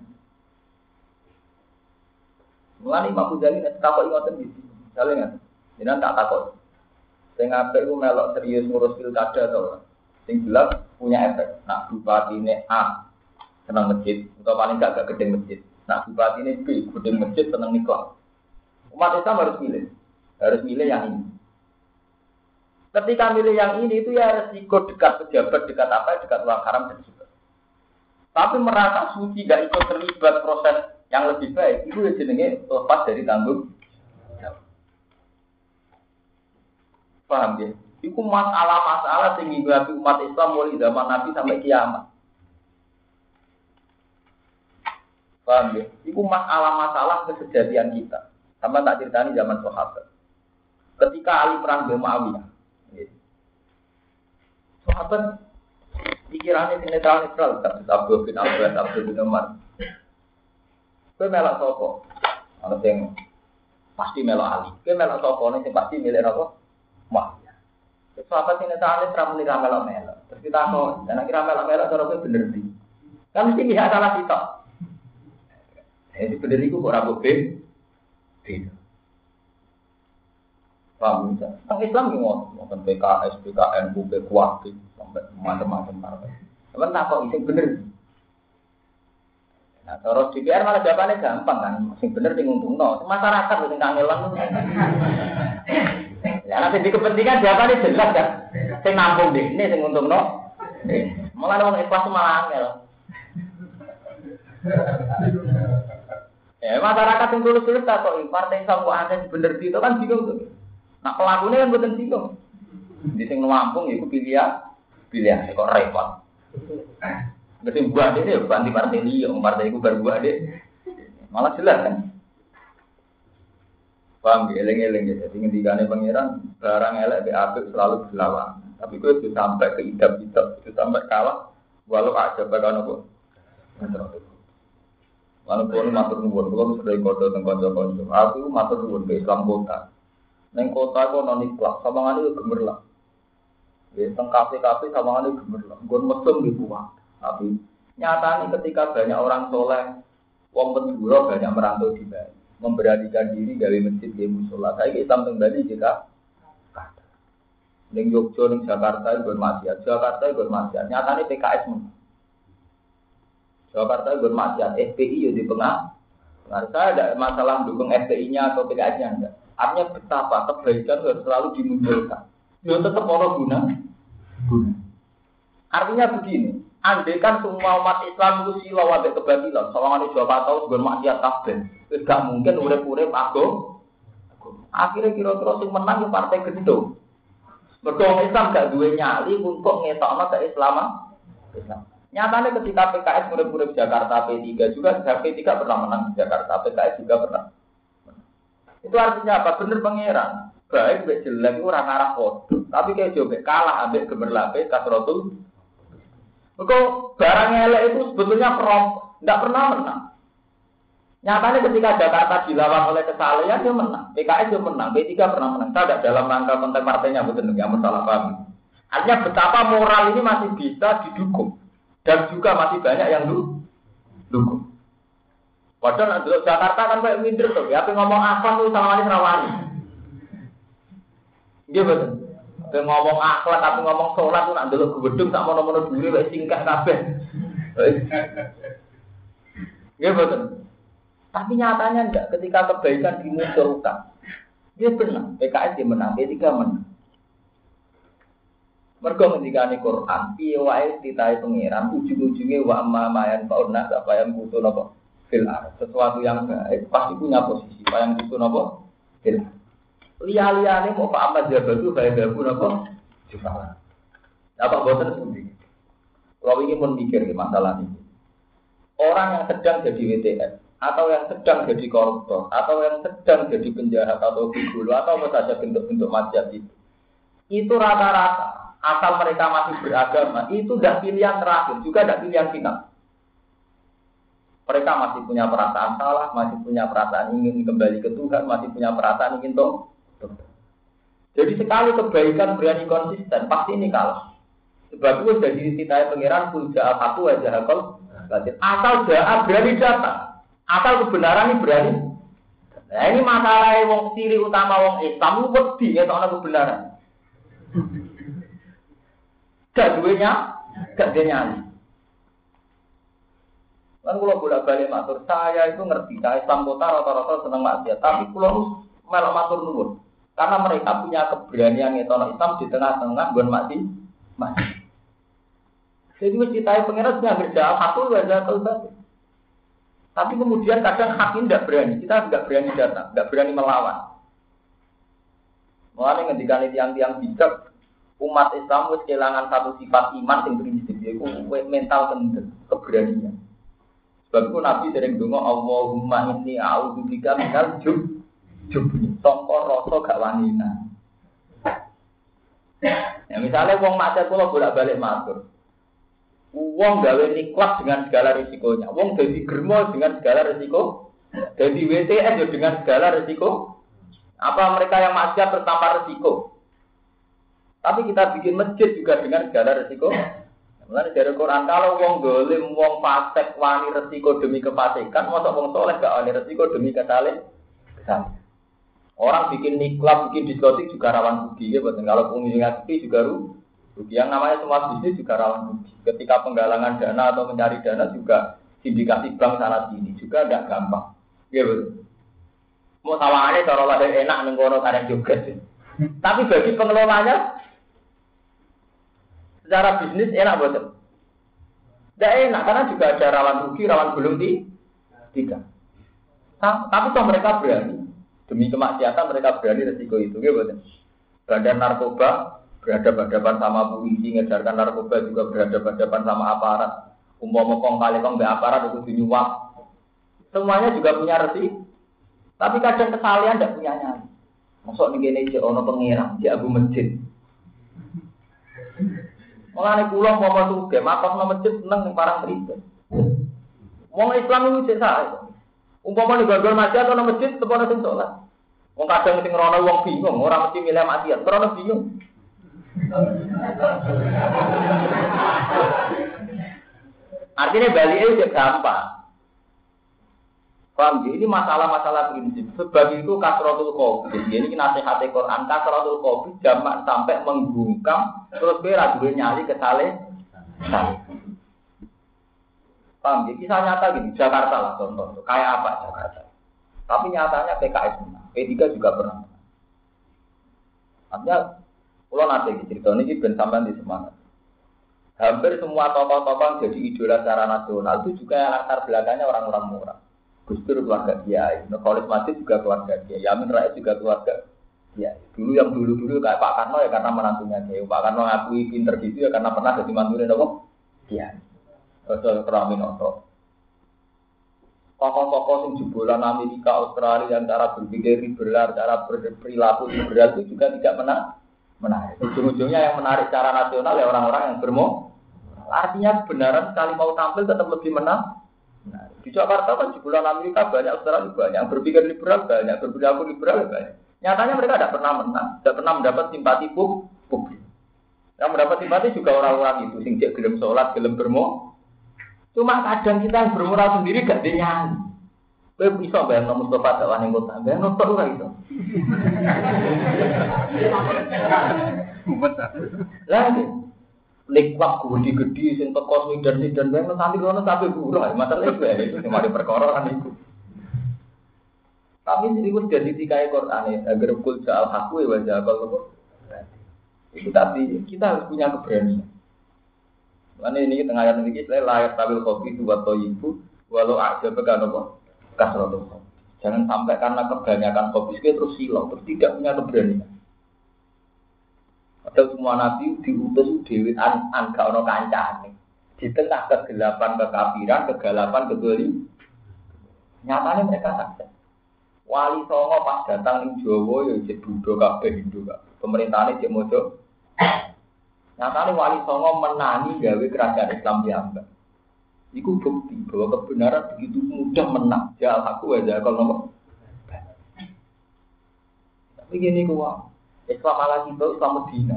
Mulane Imam Ghazali nek takok ngoten iki. Jale ngaten. Jenengan tak takok. Sing apik ku melok serius ngurus pilkada to. Sing jelas punya efek. Nak bupatine A seneng masjid, atau paling gak gedeng masjid. Nak bupatine B gedeng masjid seneng nikah. Umat Islam harus milih. Harus milih yang ini. Ketika milih yang ini itu ya resiko dekat pejabat, dekat apa, dekat uang haram dan juga. Tapi merasa suci tidak ikut terlibat proses yang lebih baik, itu ya jenenge lepas dari tanggung jawab. Paham ya? Itu masalah-masalah yang dihadapi umat Islam mulai zaman Nabi sampai kiamat. Paham ya? Itu masalah-masalah kesejatian kita. Sama tak ceritani zaman sahabat. Ketika Ali perang dengan Muawiyah, sahabat pikirannya netral-netral, tak Abdul bin Abbas, Abdul bin Umar. Kowe melok sapa? Ana sing pasti melok Ali. Kowe melok sapa nek sing pasti milih apa? Muawiyah. Sahabat sing netral muni ra melok-melok. Terus kita kok, dan akhirnya melok-melok cara kowe bener iki. Kan mesti lihat salah sitok. Jadi bener iku kok ora beda. Paham ya? Tang Islam ki ngoten PKS, PKN, UB kuat sampai macam-macam partai. Cuman tak kok sing bener. Nah, terus DPR malah jawabannya gampang kan, sing bener sing nguntungno, masyarakat sing kangelan. Ya nanti di kepentingan jawabannya jelas kan, sing nampung deh, ini sing nguntungno. Malah wong ikhlas malah angel. Masyarakat yang tulus-tulus tak kok partai Islam kok ada bener itu kan bingung tuh. Nah pelakunya kan betul bingung. Di sing nampung iku pilihan kok repot. Berarti buat dia banti partai dia, partai itu berbuat dia, malah jelas kan? Paham ya, eleng-eleng ya. Jadi ngendikane pangeran barang elek BAP selalu berlawan. Tapi itu sampai ke idap-idap, itu sampai kalah. Walau aja bakal nopo. Walaupun matur nuwun, belum sudah kode tentang konco. Aku matur nuwun ke Islam kota. Neng kota aku non ikhlas, samangan itu gemerlap. Ya, teng kafe-kafe samangan itu gemerlap. Gon mesum di buah. Tapi nyatanya ketika banyak orang soleh, wong penduduk banyak merantau di Bali, memberanikan diri gawe masjid di musola. Saya Islam teng Bali jika neng Yogyo, neng Jakarta ikut maksiat, Jakarta ikut maksiat. Nyatanya PKS menang. Jakarta ikut maksiat, FPI di tengah. Nah, saya ada masalah mendukung FPI-nya atau PKS-nya enggak. Artinya betapa kebaikan harus selalu dimunculkan. Dia tetap orang guna. Artinya begini. Andai kan semua umat Islam itu silau sampai kebatilan, soalnya di Jawa tahun bermaksiat kabeh, tidak mungkin urip-urip aku. Akhirnya kira-kira sing menang di partai gendong. Berdoa Islam gak duwe nyali untuk ngetokno keislaman. Islam. Nyatanya ketika PKS murid-murid Jakarta P3 juga, P3 pernah menang di Jakarta, PKS juga pernah. Itu artinya apa? Bener pangeran. Baik, baik jelek itu orang arah foto. Tapi kayak coba kalah ambil gemerlape kasrotul. Kok barang elek itu sebetulnya tidak pernah menang. Nyatanya ketika Jakarta dilawan oleh kesalahan dia menang, PKS dia menang, P3 pernah menang. Tidak dalam rangka konteks partainya betul nggak masalah paham. Artinya betapa moral ini masih bisa didukung. Dan juga masih banyak yang dukung. Padahal dulu Jakarta kan kayak minder tuh. Ya, tapi ngomong akhlak tuh sama wali rawani. Iya betul. Tapi ngomong akhlak tapi ngomong sholat tuh nak dulu gedung tak mau nomor dulu kayak singkat kabeh. Iya betul. Tapi nyatanya enggak. Ketika kebaikan dimunculkan, dia benar. PKS dia menang, P3 menang. Mergo ngendikane Quran, piye wae ditahe pangeran ujung-ujunge wa amma mayan fauna apa yang butuh napa fil ar. Sesuatu yang baik pasti punya posisi, apa yang butuh napa fil. Liya-liyane mau Pak Ahmad Jabatu bae gabu napa jufala. Apa boten pundi. Kalau ingin memikir masalah ini. Orang yang sedang jadi WTS atau yang sedang jadi koruptor atau yang sedang jadi penjahat atau gigolo atau apa saja bentuk-bentuk maksiat itu rata-rata asal mereka masih beragama, itu tidak pilihan terakhir, juga tidak pilihan final. Mereka masih punya perasaan salah, masih punya perasaan ingin kembali ke Tuhan, masih punya perasaan ingin toh. Jadi sekali kebaikan berani konsisten, pasti ini kalah. Sebab itu sudah dititai pengiran pun jahat satu aja hakol. Asal jahat berani datang, asal kebenaran ini berani. Nah ini masalah wong ciri utama wong Islam, wedi ya soal kebenaran. Gak duenya, gak dia nyali. Kan kalau bolak-balik matur, saya itu ngerti, saya Islam kota rata-rata senang maksiat, tapi kalau melok matur nuwun, karena mereka punya keberanian ngetono Islam di tengah-tengah bukan mati. Jadi mesti tahu pengiran kerja satu aja kalau tapi kemudian kadang hakim tidak berani, kita tidak berani datang, tidak berani melawan. Mulanya ngendikan tiang-tiang bijak. Umat Islam wis kehilangan satu sifat iman yang prinsip yaitu mental keberanian. Sebab itu Nabi sering donga Allahumma inni a'udzubika minal jubni. Sangka rasa gak wanina. Ya misalnya wong maksiat kula bolak-balik matur. Wong gawe niklas dengan segala risikonya. Wong dadi germo dengan segala risiko. Dadi WTS dengan segala risiko. Apa mereka yang maksiat bertambah risiko? Tapi kita bikin masjid juga dengan segala resiko. Mulane dari Quran kalau wong dolim, wong fasik wani resiko demi kefasikan, mosok wong soleh gak wani resiko demi kesalahan. Orang bikin niklab, bikin diskotik juga rawan rugi ya, betul. Kalau pengunjung sepi juga rugi. Yang namanya semua bisnis juga rawan rugi. Ketika penggalangan dana atau mencari dana juga sindikasi bank sana sini juga tidak gampang. Ya betul. Mau tawangannya cara lahir enak nengkono karena juga sih. Tapi bagi pengelolanya secara bisnis enak betul. Tidak enak karena juga ada rawan rugi, rawan gulung tidak. Tapi toh mereka berani demi kemaksiatan mereka berani resiko itu, betul. Badan narkoba berhadapan sama polisi, ngejarkan narkoba juga berhadapan sama aparat. Umpama kong kali kong be aparat itu dinyuap. Semuanya juga punya resiko. Tapi kadang kesalahan tidak punya nyali. Masuk nih gini ono pengirang, di abu masjid. Mulane kula mau suge, mapak nang masjid seneng ning parang pribadi. Wong Islam iki cek sae. Umpama ning gondol masjid atau nang masjid tepono sing salat. Wong kadang sing rono wong bingung, ora mesti milih maksiat, rono bingung. Artinya balik itu gampang. Paham ya? Ini masalah-masalah prinsip. Sebab itu kasratul qobi. Ini nasihat Quran. Kasratul qobi jamak sampai menggungkam. Terus berat gue nyali ke saleh. Paham ya? Kisah nyata gini. Jakarta lah contoh. Kayak apa Jakarta? Tapi nyatanya PKS menang. P3 juga pernah menang. Artinya, kalau nanti cerita ini ben sampean di semangat. Hampir semua tokoh-tokoh jadi idola secara nasional itu juga latar belakangnya orang-orang murah. Gus Dur keluarga Kiai, Nurholis Masjid juga keluarga Kiai, Yamin Rais juga keluarga Kiai. Dulu yang dulu kayak Pak Karno ya karena menantunya Kiai. Pak Karno ngakui pinter gitu ya karena pernah jadi mantunya Kiai. Ada Raminoto. Tokoh-tokoh yang jebolan Amerika, Australia yang cara berpikir liberal, cara berperilaku liberal itu juga tidak menarik. Ujung-ujungnya yang menarik secara nasional ya orang-orang yang bermo. Artinya kebenaran sekali mau tampil tetap lebih menang. Nah, di Jakarta kan jebolan Amerika banyak, Australia banyak, yang berpikir liberal banyak, berperilaku liberal banyak. Nyatanya mereka tidak pernah menang, tidak pernah mendapat simpati publik. Yang mendapat simpati juga orang-orang itu, sing cek gelem sholat, gelem bermo. Cuma kadang kita yang bermoral sendiri gak dinyanyi. Kowe bisa bayang Mustafa dakwah ning kota, bayang nonton ora iso. Lah likwak gede-gede sing teko Sweden bayang santri kono sampe buruh, masalah itu cuma di perkara kan itu. Tapi ini wis jadi dikai Quran agar kul ja'al haqu wa ja'al itu tapi kita harus punya keberanian. Karena ini tengah ayat ini saya layak tabil kopi itu atau ibu walau aja bekan apa kasrotul. Jangan sampai karena kebanyakan kopi terus silau, terus tidak punya keberanian. Padahal semua nabi diutus dewi angka ono kancane. Di tengah kegelapan kekafiran, kegelapan kedolim. Nyatanya mereka sukses. Wali Songo pas datang di Jawa ya jadi Buddha kabeh Hindu kabeh. Pemerintahane cek mojo. Nyatanya Wali Songo menangi gawe kerajaan Islam piyambak. Iku bukti bahwa kebenaran begitu mudah menang. Jal aku aja kalau nomor. Tapi gini kuwa, Islam ala kita Islam Medina.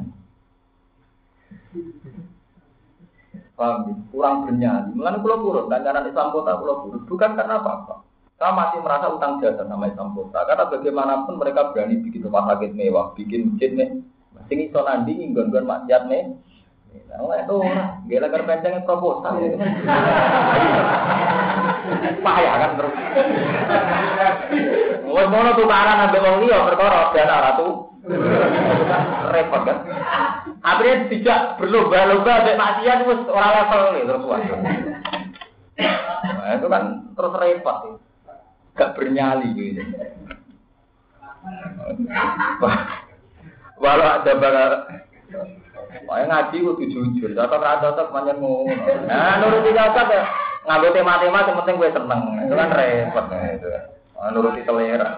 Paham? Kurang bernyali. Mulane kula purun kancanan Islam kota kula purun. Bukan karena apa-apa. Saya masih merasa utang jasa sama Islam kota. Karena bagaimanapun mereka berani bikin rumah sakit mewah, bikin masjid nih. Sing iso nandingi nggon-nggon maksiat nih. Nah, itu ora, gila kan pencengnya proposal itu kan. Payah kan terus. Wes mono tukaran ambek wong liya perkara dana ratu. Repot kan. Akhirnya tidak berlomba-lomba ambek maksiat wis ora level terus wae. Nah, itu kan terus repot. Gak bernyali gitu. Walau ada bakal ngaji kudu jujur, cocok pancen ngono. Nah, nuruti cocok ya. Nganggo tema-tema sing penting kowe seneng. Itu kan repot itu. Nuruti selera.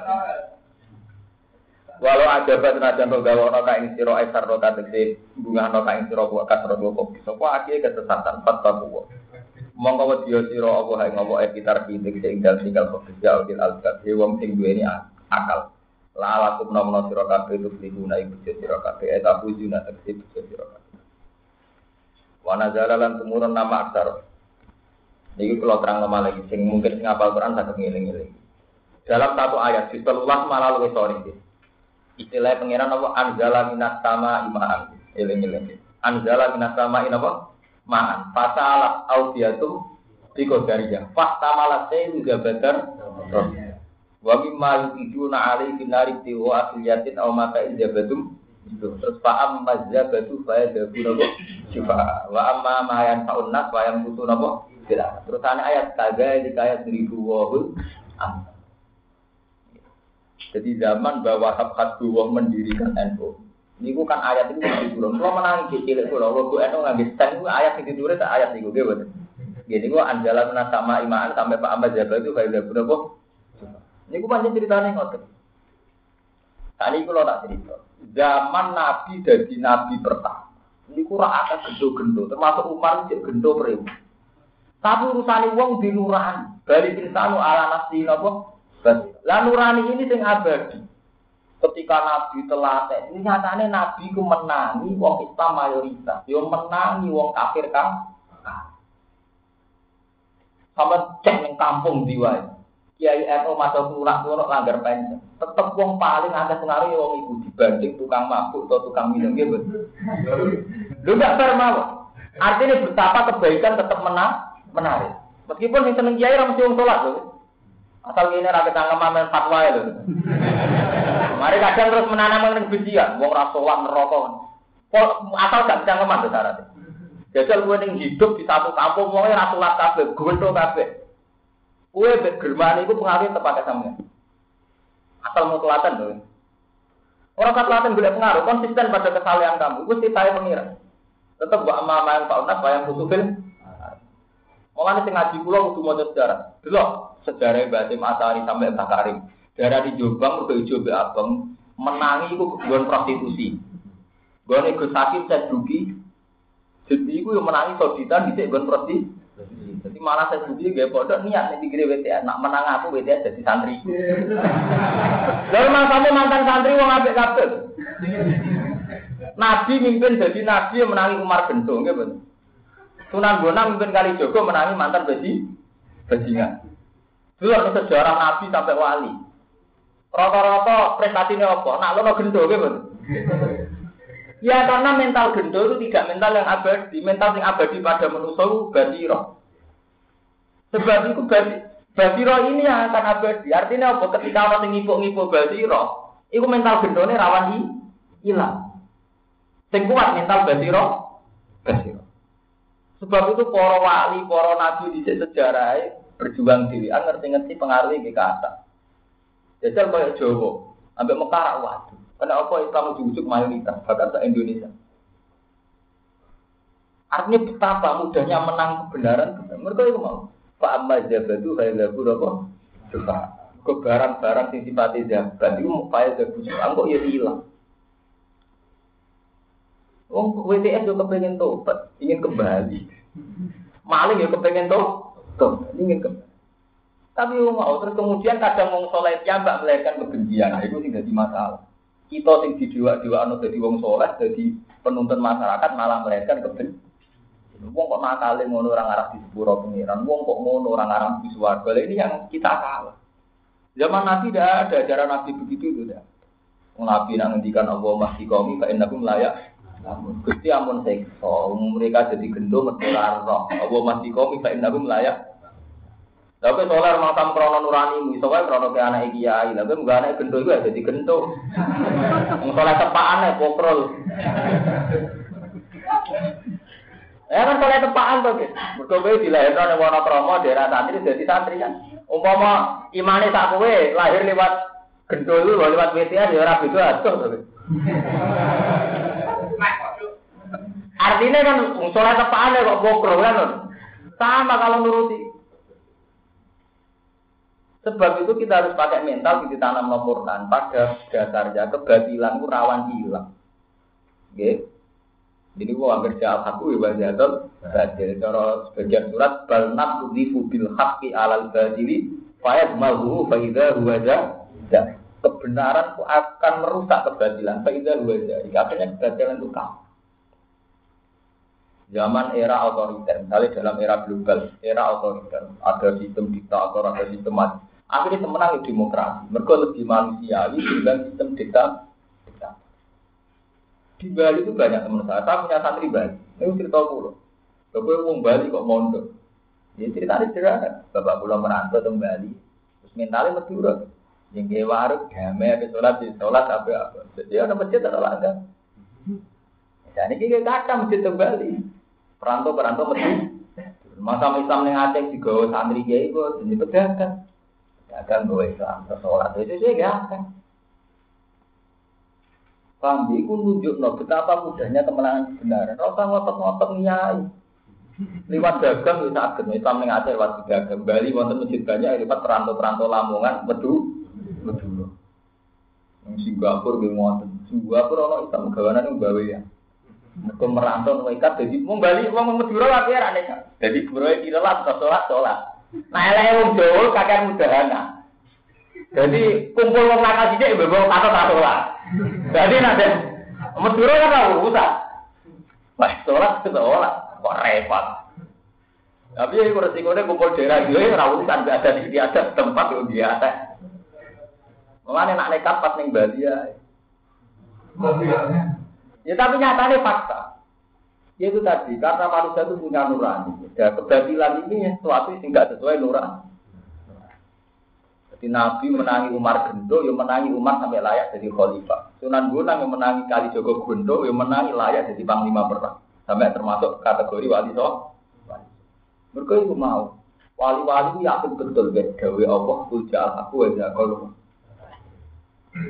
Walau ada banajan gawa ana kaing sira aisar ro kategori bunga ana kaing sira kok kasro kok bisa kok akeh kesesatan fatwa. Monggo wedya sira apa hae ngopo epitar pitik sing tinggal kok jauh al-albab wong sing duweni akal. La lakum namna sira kabeh itu lihuna iku sira kabeh eta bujuna teksib sira kabeh. Wa nazala lan tumurun nama aksar. Niki kula terang lagi sing mungkin sing hafal Quran saged ngeling-eling. Dalam satu ayat di 13 malah luwih sore iki. Istilah pangeran apa anzala minas sama imaan. Eling-eling. Anzala minas sama apa? Ma'an. Fasala audiatum biqadariyah. Fastamala sayyidu badar. Wa mimma yujuna alaihi binari tiwa asliyatin aw maka ijabatum terus fa'am mazabatu fa yadabuna syifa wa amma ma yanfa'un nas wa yamutuna tidak terus ayat kaga di ayat 1000 jadi zaman bahwa hak dua mendirikan NU niku kan ayat itu diturun kalau menangi cilik kula waktu NU ngangge stand ayat iki diturun ayat niku nggih boten nggih niku anjalan sama iman sampai Pak Ahmad Jabal itu fa yadabuna ini gue panjang ceritanya ngotot. Tadi kalau tak cerita, zaman Nabi dari Nabi pertama, ini kurang ada gendo-gendo, termasuk Umar cek gendo beribu. Tapi urusan uang di nurani, dari insanu ala nafsi nopo. Lah nurani ini sing abadi. Ketika Nabi telah ini nyatanya Nabi ku menangi wong Islam mayoritas, yo menangi wong kafir kan. Sama cek neng kampung diwai. Kiai NU masuk lunak langgar panjang. Tetep wong paling ada pengaruh wong iku dibanding tukang mabuk atau tukang minum gitu. Lu enggak fair mawon. Artinya betapa kebaikan tetap menarik. Meskipun yang seneng kiai ra mesti wong salat lho. Asal kene ra ketangkeman fatwa lho. Mari kadang terus menanam kebencian, wong ra salat neraka. Asal gak ketangkeman to syaratnya. Jajal kowe ning hidup di satu kampung wong ra salat kabeh, gwento kabeh. Kue bergerman itu pengaruh tepat sampean. Asal mau telaten loh. Orang telaten boleh pengaruh konsisten pada kesalahan kamu. Itu sih saya mengira. Tetap buat amal-amal Pak Unas bayang kutubin. Mulane sing ngaji kula kudu maca sejarah. Delok sejarah Mbah Hasyim Asari sampai Mbah Karim. Daerah di Jombang udah ijo mbek abang menangi iku nggon prostitusi. Nggone Gus Sakim saya dugi. Jadi iku yo menangi soditan dhisik nggon prostitusi. Jadi malah saya dugi nggih pondok niat nek pikire WTS nak menang aku WTS dadi santri. Lalu sampe mantan santri wong apik kabeh. Nabi mimpin jadi nabi yang menangi Umar Gento nggih bener. Sunan Bonang mimpin Kalijogo menangi mantan bajingan. Dulu sejarah nabi sampai wali. Rata-rata prestasinya apa? Nak lono Gento nggih bener. Ya karena mental Gento itu tidak mental yang abadi, mental yang abadi pada manusia basiro. Sebab itu basiro ini yang akan abadi. Artinya apa? Ketika orang yang ngipuk-ngipuk basiro, itu mental Gentone rawan hilang. Sing kuat mental basiro. Sebab itu para wali, para nabi di sejarah berjuang dhewean ngerti-ngerti pengaruh ke atas. Jajal kaya Jawa, ambek Mekah rak waduh. Karena apa Islam ujug-ujug mayoritas bahkan se Indonesia. Artinya betapa mudahnya menang kebenaran. Mereka itu mau. Pak Ahmad Jabadu khailabu apa? Suka. Ke barang-barang sing sifate jabat iku mau kaya jabu. Angkok ya hilang. Wong WTS juga kepengen tobat, ingin kembali. Maling ya kepengen tobat, ingin kembali. Tapi mau terus kemudian kadang wong soleh piyambak melahirkan kebencian, itu tidak jadi masalah. Kita sing didewa-dewakno dadi wong soleh, dadi penuntun masyarakat malah melahirkan kebencian. Wong kok nakale ngono orang arah di sepuro pengiran, wong kok ngono orang arah di swarga. Ini yang kita salah. Zaman Nabi tidak ada ajaran Nabi begitu itu dah. Nabi nang ngendikan Allah masih qaumi fa innakum layak. Gusti ampun sekso, mereka jadi gendong metular roh. Allah masih qaumi fa innakum layak. Tapi solar makam krono nurani, misalnya krono ke anak kiai, tapi enggak anak gendong juga jadi gendong. Solar tepaan ya pokrol. Ya kan solar tepaan tuh, berkobe dilahirkan oleh warna kromo daerah santri jadi santri kan. Umpama imane sak kowe lahir lewat gendong itu, lewat WTS ya ora beda atuh to. Artinya kan sholat tepaan ya kok bokro kan. Sama kalau nuruti. Sebab itu kita harus pakai mental di tanam Al-Quran. Pada dasarnya kebatilan itu rawan hilang. Oke. Jadi gua kerja aku ibadah badil. Cara sebagian surat balnat udzifu bil haqqi alal badili fayadmahu fa idza huwa jah. Kebenaran itu akan merusak kebatilan. Fa idza huwa jah. Artinya kebatilan itu kalah. Zaman era otoriter, misalnya dalam era global, era otoriter, ada sistem diktator, ada sistem mati. Akhirnya semenang demokrasi. Mereka lebih manusiawi dengan sistem diktator. Di Bali itu banyak teman saya punya santri Bali. Ini cerita pulau. Bapak orang Bali kok mondok. Ya ceritanya sederhana. Bapak pulau merantau ke Bali, terus mentalnya medurut. Yang kayak warung, damai, di sholat, apa. Jadi ada masjid ada langgar. Jadi ini kata masjid ke Bali. Perantau mesti masa Islam yang Aceh juga santri kiai itu jadi pedagang bawa Islam sholat itu sih gak kan. Kami itu nunjuk betapa mudahnya kemenangan kebenaran. Rasa ngotot-ngotot nyai lewat dagang bisa agak Islam yang Aceh lewat dagang Bali wonten masjid banyak lewat perantau Lamongan Meduru. Singapura di wonten Singapura ono Islam gawanan yang bawa ya. Mereka merantau mereka jadi membalik uang Madura lagi ya aneh. Jadi beroi kirelat ke sholat. Nah eleh wong Jawa kakek mudahana. Jadi kumpul wong nakal sithik mbok kata sholat. Jadi nanti Madura kan urusan. Wah sholat kok repot. Tapi ya resikonya kumpul daerah dhewe ora urusan ada di atas tempat yo biasa. Mulane nek nekat pas ning Bali ya. Ya tapi nyatanya fakta. Yaitu tadi, karena manusia itu punya nurani. Ya, kebatilan ini sesuatu yang tidak sesuai nurani. Jadi Nabi menangi Umar Gento, ya menangi Umar sampai layak jadi khalifah. Sunan Bonang yang menangi Kalijogo Gento, ya menangi layak jadi panglima perang. Sampai termasuk kategori wali soh. Mereka itu mau. Wali-wali itu yakin betul, gawe Allah, kuja'al aku aja kalau.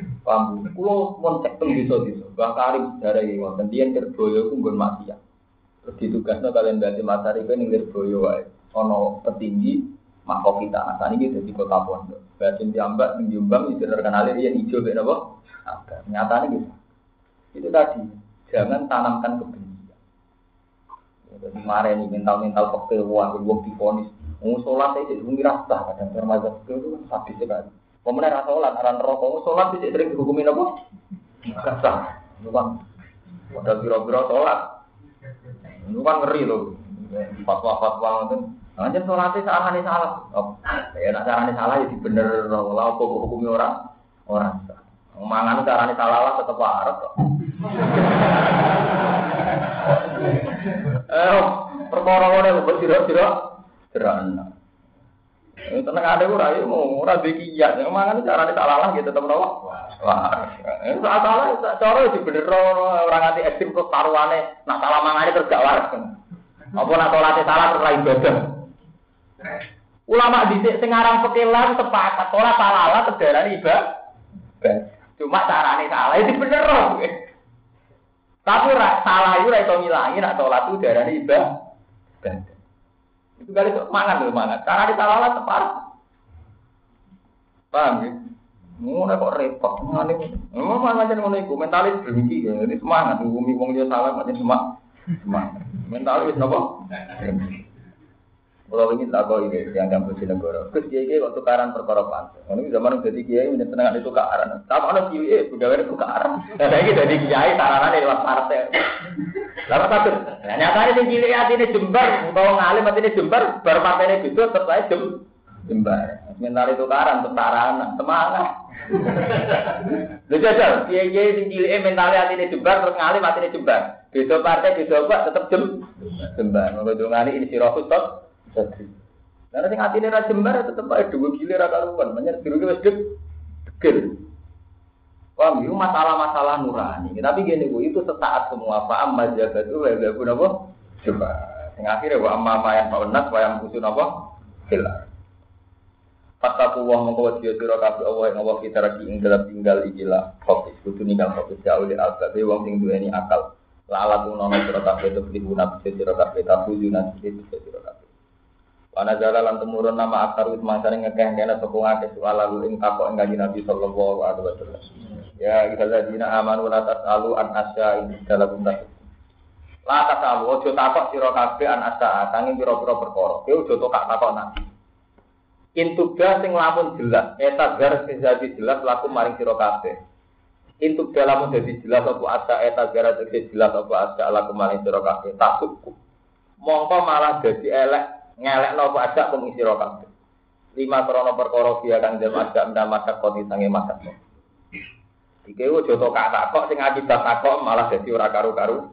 Paham, kalau mau cek teng desa-desa, Mbah Karim sejarah iki wonten tiyang Kerboyo ku nggon maksiat. Terus ditugasno kalian berarti Masariku ning Lirboyo wae. Ana petinggi Mahkota. Saat ini jadi kota pondok. Berarti diambak ning Jombang itu terkenal dia hijau mek napa? Nyatane gitu. Itu tadi, jangan tanamkan kebencian. Jadi mareni mental-mental fakir wah wong difonis. Wong salat iki wong rasa kadang termazhab itu kan sadis sekali. Pemenang rasa salat aran rokok salat iki sering dihukumi napa? Kasar. Itu kan modal biro-biro salat. Itu kan ngeri loh. Fatwa-fatwa itu. Anjen salate sakane salah. Ya nek carane salah ya dibener ora apa hukumi orang. Mangan carane salah lah tetep arep kok. Perkara ngene kok sira-sira jerana. Tenang ada ora yo ora dikiyat. Mangan carane salah lah gitu tetep ora. Wah. Salah cara dibener ora nganti ekstrem terus taruhane nak salah mangane terus gak waras. Apa nak salate salah terus ra ibadah. Ulama dhisik sing aran pekelan sepakat ora salah terdarani ibadah. Cuma carane salah itu bener loh. Tapi salah itu ora iso ngilangi nek salat itu darane ibadah. Itu kali kok mangan lho mangan. Carane salah tepat. Paham ya? Ngono kok repot. Ngene. Macam ngono iku mentalis berhenti ya. Ini semangat ngumi wong liya salah macam semangat. Mentalis napa? Kalau ini tak kau ini yang kampus di negara. Terus kiai waktu tukaran perkara pantai. Ini zaman jadi kiai menyenangkan itu tukaran. Tapi ada kiai pegawai itu tukaran. Dan lagi jadi kiai taranan di luar partai. Lalu satu. Nyatanya si kiai hati ini jembar. Kalau ngalim hati ini jembar. Baru partai ini gitu setelah jembar. Sementara itu tukaran taranan semangat. Lu jajal kiai si kiai mentalnya hati ini jembar terus ngalim hati ini jembar. Besok partai besok apa tetap jembar. Menurut ngali ini si rohus tot. Jadi, karena sing atine ra jembar tetep ae dhewe gile ra karuan, menyang dirugi wis degel. Wah, itu masalah-masalah nurani. Tapi gini Bu, itu sesaat semua paham majazat itu lha guna apa? Coba. Sing akhire wa amma yang paunas wa yang usun apa? Hilang. Fataku wa mongko wasiya sira kabeh Allah ing Allah kita lagi ing dalam tinggal ikilah fokus kudu ninggal fokus jauh di albabe wong sing duweni akal. Lalat unono sira kabeh itu dibuna sira kabeh tafujuna sira kabeh. Ana jalalan temurun nama akar wis mangsane ngekeh kene sapa ngake soal lalu ing takok ing Kanjeng Nabi sallallahu alaihi wasallam. Ya ikhladina amanu la tasalu an asya ing dalam untas. La tasalu ojo takok sira kabeh an asya sanging pira-pira perkara. Kowe ojo takok Nabi. Intubda sing lamun jelas, eta gar sing dadi jelas laku maring sira kabeh. Intubda lamun dadi jelas apa asya eta gar sing jelas apa asya laku maring sira kabeh. Takutku. Mongko malah dadi elek ngelekno apa ajak wong sira kabeh. 5 krana perkara dia kang dem ajak ndamasak koti sange masak. Iki ojo takok sing akibat takok malah dadi ora karu-karu.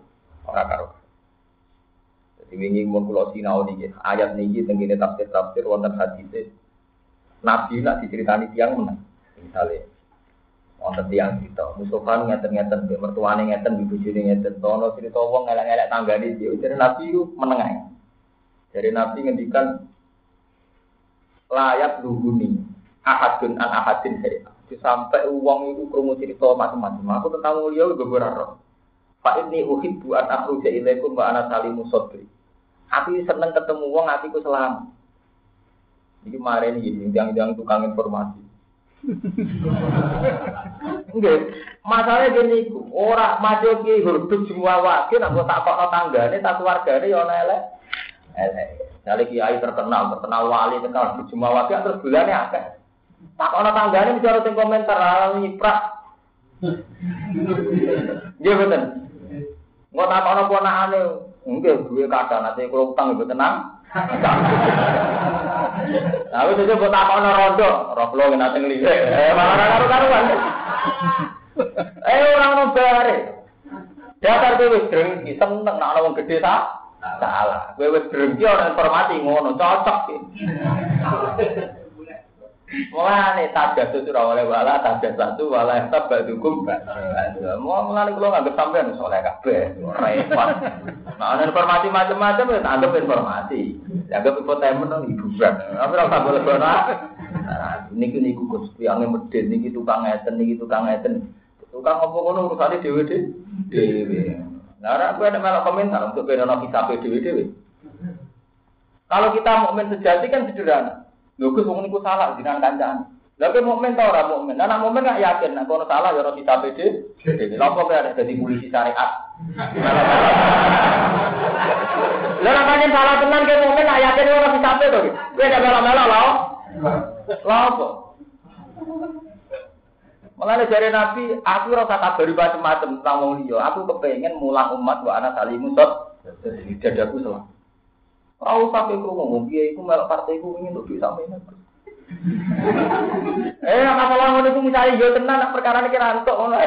Dadi wingi mun kula sinau niki ayat niki teng kene tafsir wonten hadis Nabi nak diceritani tiyang meneh. Misale wonten tiyang cerita Mustofa ngeten-ngeten mertuane ngeten bojone ngeten tono cerita wong ngelek-ngelek tanggane dia jare Nabi ku meneng. Dari Nabi ngendikan layak luhuni ahadun an ahadin saya. Sampai uang itu krungu cerita macam-macam. Aku tentang mulia juga berharap. Pak ini uhibbu an akhruja ilaikum wa ana salimu sadri. Aku seneng ketemu uang, aku selamat. Ini kemarin ini yang tukang informasi. Enggak, masalahnya gini, orang maju ki huruf semua wakil, aku tak kok tanggane, tak keluargane ya elek. Jadi kiai terkenal wali terkenal semua wakil terus bulannya akeh. Tak ana tanggane bicara sing komentar ala nyiprak. Nggih mboten. Engko tak ana ponakane, nggih duwe kadang ate kula utang mboten tenang. Lah wis aja mbok tak ana rondo, roh kula nate nglirik. Malah karo-karuan. Ora ono bare. Dasar kowe wis drengki seneng nek ana wong gedhe ta? Salah. Kowe wis drengki ana informasi ngono, cocok iki. Mulane tajadus ora oleh wala tajadus wala tabadukum. Mulane kula nganggep sampean soleh kabeh, repot. Nah, ana informasi macam-macam ya anggap informasi. Anggap infotainment nang hiburan. Tapi ora usah boleh-boleh. Nah, niku Gusti ange medhit niki tukang ngeten. Tukang apa ngono urusane dhewe. Nah, aku ada malah komentar untuk benono kita PDW. Kalau kita mukmin sejati kan sederhana. Lho Gus wong niku salah jinan kancane. Lah kowe mukmin ta ora mukmin? Nah, mukmin gak yakin nek ono salah ya ora kita PDW. Lha kok ada dadi polisi syariat. Lah nek salah tenan kowe mukmin gak yakin ora kita to. Kowe gak melo-melo lho. Lha apa? Mulane jare Nabi, aku ora usah kabari macam-macam tentang wong liya. Aku kepengin mulang umat wa ana salimusot. Dadaku salah. Ora usah kowe ngomong piye iku melok partaiku ingin untuk sampeyan. Masalah ngono iku misale yo tenan nek perkarane ki rantuk ngono.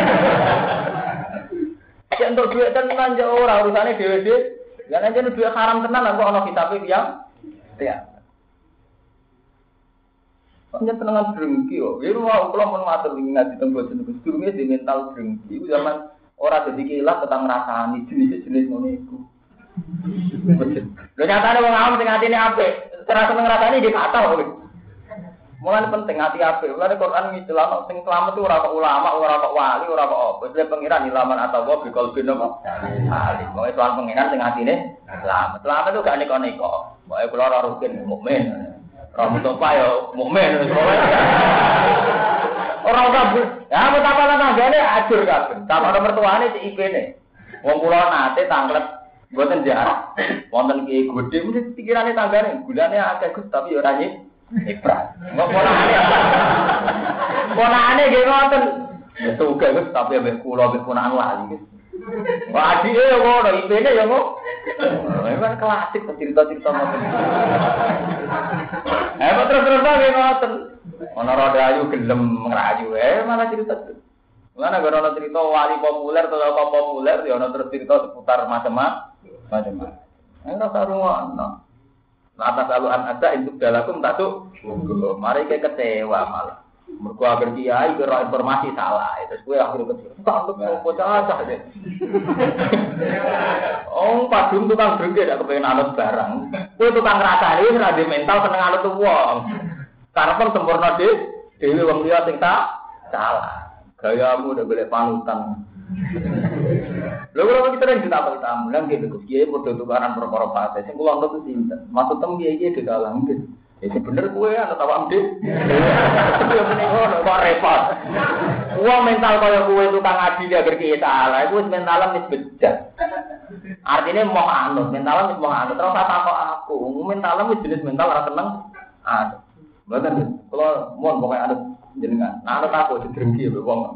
Nek entuk dhuwit tenan yo ora urusane dhewe-dhewe. Lah nek jenenge dhuwit haram tenan kok ana kitabe tiyang. Ya. Panjang tenangan drengki yo. Ya rumah kula mun matur ngaji teng boten niku durunge di mental drengki. Iku zaman ora dadi kilat tetang ngrasani jenis-jenis ngono iku. Lho nyatane wong awam sing atine apik, ora seneng ngrasani nggih kata kok. Mulane penting ati apik. Mulane Quran ngijelano sing selamat itu ora kok ulama, ora kok wali, ora kok apa. Wis pengiran ilaman atau wa bikol bin apa? Ali. Pokoke soal pengiran sing atine selamat. Selamat itu gak neko-neko. Pokoke kula ora rugen mukmin. Rambut apa ya mukmin orang kabeh. Ya betapa tanggane ajur kabeh. Sama mertuane si IP-ne. Wong kula nate tanglet mboten jarak. Wonten ki gedhe mesti pikirane tanggane. Gulane akeh Gus tapi ya ora nyiprat. Kok ponakane nggih ngoten. Ya tuga Gus tapi ambek kula ambek ponakan lali Gus. Wah adike yo ngono, IP-ne yo ngono. Memang klasik cerita-cerita ngoten. Terus ngoten. Ana rada ayu gelem ngrayu malah cerita. Mana gara ana cerita wali populer atau apa populer ya ana terus cerita seputar macam-macam. Ora sarungono. Atas aluan ada untuk dalakum tak tuh. Mari ke kecewa malah. Mergo agar kiai kira informasi salah, terus kowe akhirnya kecewa. Tak bocah acah deh. Oh, padung tukang drengke dak kepengen anut barang. Kowe tukang ngrasani wis ra mental seneng anut wong. Karepen sempurna dhewe wong liya sing salah. Gayamu udah golek panutan. Lho kok kita ning ditapel tamu, lan nggih Gus Kiai padha tukaran perkara fase. Sing kula ngerti sinten. Maksud tem piye di dalam nggih. Ya bener kowe ana tawak ndek. Ya menika kok repot. Wong mental kaya kowe tukang adi agar ki salah, iku wis mentalan wis bejat. Artine mau anut, mentalan wis mau anut. Terus takok aku, mentalan wis jenis mental ora seneng. Mboten kula mohon pokoke anut jenengan. Nah anut aku drengki ya wong.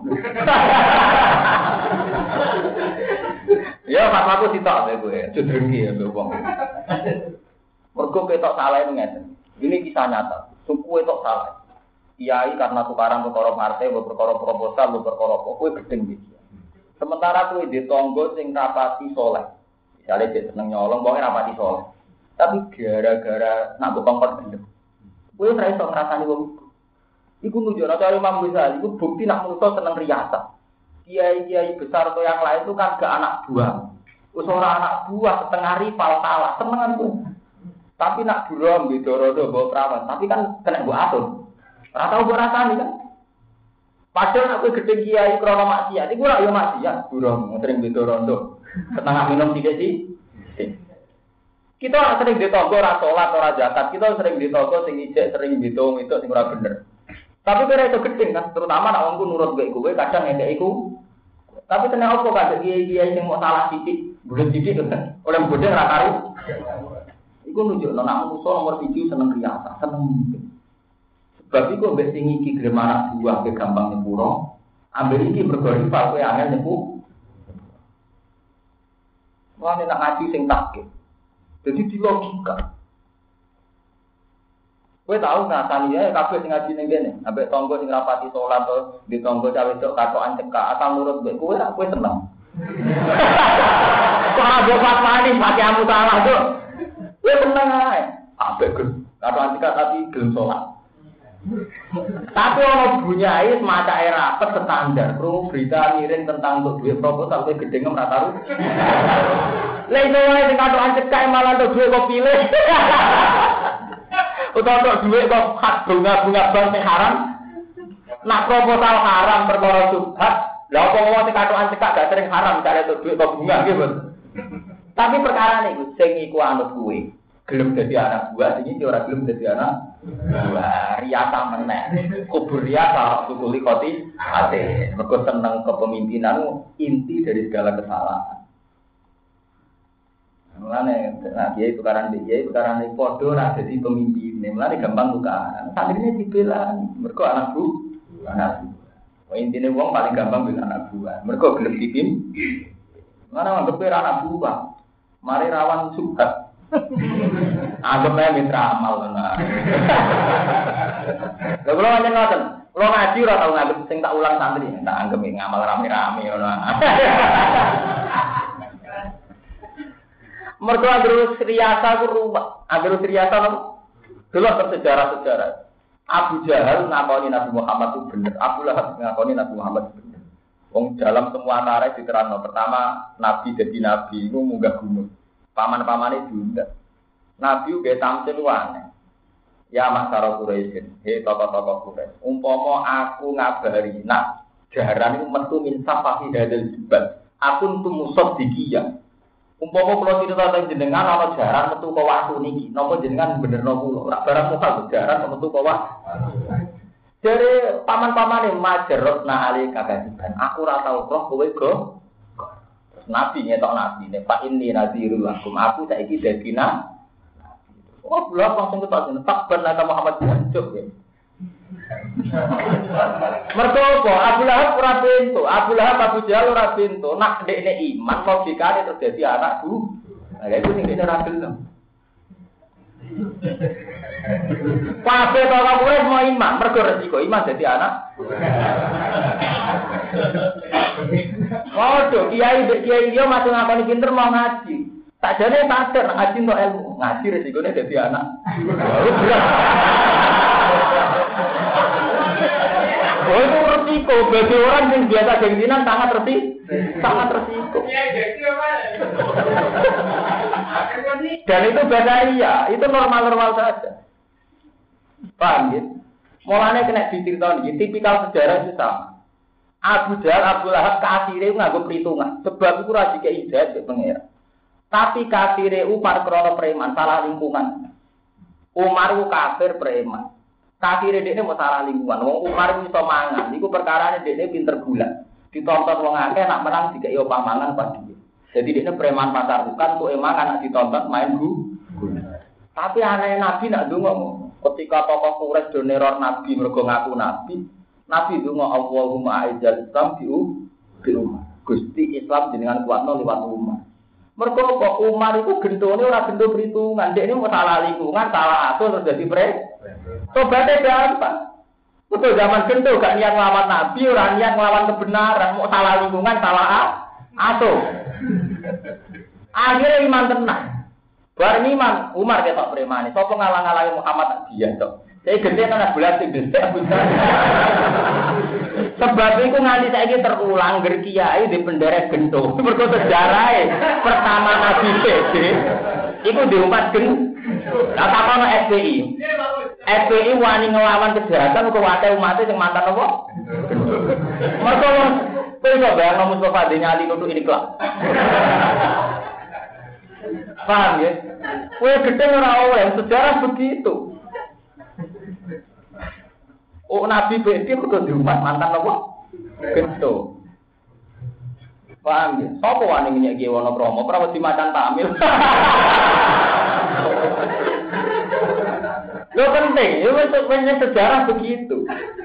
Ya pas aku sitok kowe, drengki ya wong. Mergo ketok salah ngeten. Ini kisah nyata. Suku itu salah. Kiai karena tukaran perkara partai, perkara proposal, perkara apa, kowe gedeng iki. Sementara kowe ditonggo sing rapati saleh. Misale dhek seneng nyolong, wong rapati saleh. Tapi gara-gara nak kongkon gendem. Kowe ora iso ngrasani wong iku. Iku nunjukno cara Imam Ghazali iku bukti nak manusa seneng riasa. Kiai-kiai besar atau yang lain itu kan gak anak buah. Wis ora anak buah setengah rival salah, senengan kowe. Tapi nak buram di dorodo bawa perawan, tapi kan kena gua atur. Ora tau gua rasani kan. Padahal aku gede kiai krono maksiat, iku ora yo maksiat, buram sering di dorodo. Setengah minum tiga sih. Kita sering ditonggo ora salat ora zakat, kita sering ditonggo sing ijek sering ditung itu sing ora bener. Tapi kira itu gede kan, terutama nak wongku nurut kowe kadang ngekek iku. Tapi kena opo kadang kiai-kiai sing mau salah sithik, bulet sithik kan. Oleh bodhe ora karo. Iku nunjukno nek manusa nomor 7 seneng riasa, seneng mimpi. Sebab iku mbek sing iki gelem anak buah ke gampang nyepuro, ambil iki mergo rival kowe angel nyepu. Wah nek ngaji sing takik. Jadi di logika. Kowe tau ngatani ya kabeh sing ngaji ning kene, ambek tangga sing rapati salat to, di tangga cawe cok katokan cekak, asal nurut mbek kowe ra kowe seneng. Kok ora fatwani pati amu salah to. Kowe seneng ae. Ambek katokan cekak tapi gelem salat. Tapi ono bunyai semacam rapet standar, krungu berita miring tentang untuk duit proposal kowe gedhe ngem ra taru. Lah iso wae sing katokan cekak malah untuk duit kok pilih. Utawa duit kok hak bunga-bunga bank sing haram. Nak proposal haram perkara subhat, Lah apa wong sing katokan cekak gak sering haram cari itu duit atau bunga gitu. Tapi perkara niku sing iku anut kuwe. Gelem dadi anak buah sing iki ora gelem dadi anak buah. Riasa meneh. Kubur riasa tukuli koti ate. Mergo seneng kepemimpinan inti dari segala kesalahan. Mulane nah kiai tukaran kiai tukaran padha ora dadi pemimpin. Mulane gampang tukaran. Santrine dibela mergo anak bu. Anak. Intine wong paling gampang bela anak buah. Mergo gelem dipimpin. Mana anggap anak buah. Mari rawan subhat. Anggap ae mitra amal tenan. Lha kula nyen ngoten, kula ngaji ora tau nganggep sing tak ulang santri, tak anggap ngamal rame-rame ngono. Mergo terus riasa ku ruwet. Terus riasa lho. Delok sejarah-sejarah. Abu Jahal ngakoni Nabi Muhammad itu bener. Abu Lahab ngakoni Nabi Muhammad bener. Wong dalam semua tarikh diterangno. Pertama Nabi jadi nabi iku munggah gunung. Paman-pamane diundang. Nabi uga tamsil aneh. Ya masyarakat Quraisy, he tokoh-tokoh Quraisy. Umpama aku ngabari, nak jaran iku metu min safahi hadal jibal. Aku tumusot dikiyah. Umpama kula cerita teng jenengan ana jaran metu ka watu niki, napa jenengan benerno kula? Ora barang muka jaran metu ka watu. Jare paman-pamane majarotna ali kagasiban. Aku ora tau roh kowe go. Nabi nyetok nabi ne Pak ini nadhirul lakum. Aku saiki dadi nabi. Oh, belum langsung ketok tak benar Muhammad jancuk ya. Mergo apa? Abu Lahab ora pintu. Abu Lahab Abu Jahal ora pintu. Nak ndekne iman logikane terjadi anakku. Nah, itu sing dene ora gelem. Kabeh tokoh Quraisy mau iman, mergo resiko iman dadi anak. Waduh, kiai dia masih ngakoni pinter mau ngaji. Tak jane sadar ngaji untuk ilmu. Ngaji resikonya dadi anak. Oh itu resiko bagi orang yang biasa gengsinan sangat resiko. Dan itu bahaya, itu normal-normal saja. Paham ya? Mulanya kena diceritakan, tipikal sejarah itu sama. Abu Jahal, Abu Lahab kafire nganggo perhitungan. Sebab itu ra dikei hidayah ke pengira. Tapi kafire upar krono preman, salah lingkungan. Umar ku kafir preman. Kafire dekne mau salah lingkungan. Wong Umar iso mangan, iku perkarane dekne pinter gula. Ditonton wong akeh nak menang dikei opah mangan padi. Jadi dekne preman pasar bukan kok emangan nak ditonton main gula. Tapi aneh Nabi nak ndonga ketika tokoh Quraisy do neror Nabi mergo ngaku Nabi. Nabi donga Allahumma aizal Islam bi Umar. Gusti Islam jenengan kuatno liwat Umar. Mergo kok Umar iku gentone ora gento perhitungan, dekne mau salah lingkungan, salah atur terus dadi tobaté gampang. Betul zaman gento gak niat nglawan Nabi, ora niat nglawan kebenaran, mau salah lingkungan, salah atur. Akhirnya iman tenang. Bareng iman Umar ketok premane, sapa ngalang-alangi Muhammad dia tok. Saya gede anak bulan sing gede. Sebab itu nganti saiki terulang ger kiai di penderek gento. Mergo sejarahe pertama Nabi PD iku diumpat gen. Lah takono SPI. SPI wani nglawan kejahatan kok wae umat sing mantan apa? Mergo kowe kok bayang Mustafa Denyali nutuk ini kelak. Paham ya? Kowe gede ora oleh sejarah begitu. Oh Nabi BD kudu diumat mantan apa? Gento. Paham ya? Sopo wani nyek ki Wonokromo, ora wedi macan tamil. Lo penting, itu sejarah begitu.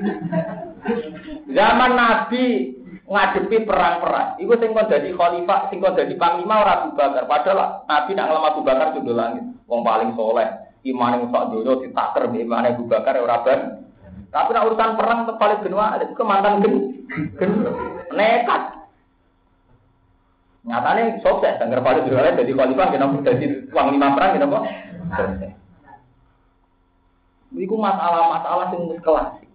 Zaman Nabi ngadepi perang-perang, iku sing kon dadi khalifah, sing kon dadi panglima ora Abu Bakar. Padahal Nabi nak ngelam Abu Bakar judul langit, wong paling soleh, imane sak donya ditaker mbek imane Abu Bakar ora ban. Tapi nak urusan perang paling benua ada ke mantan nekat. Nyatane sukses, anggar paling benua jadi khalifah kenapa jadi panglima perang kenapa? Sukses. Iku masalah-masalah sing wis klasik.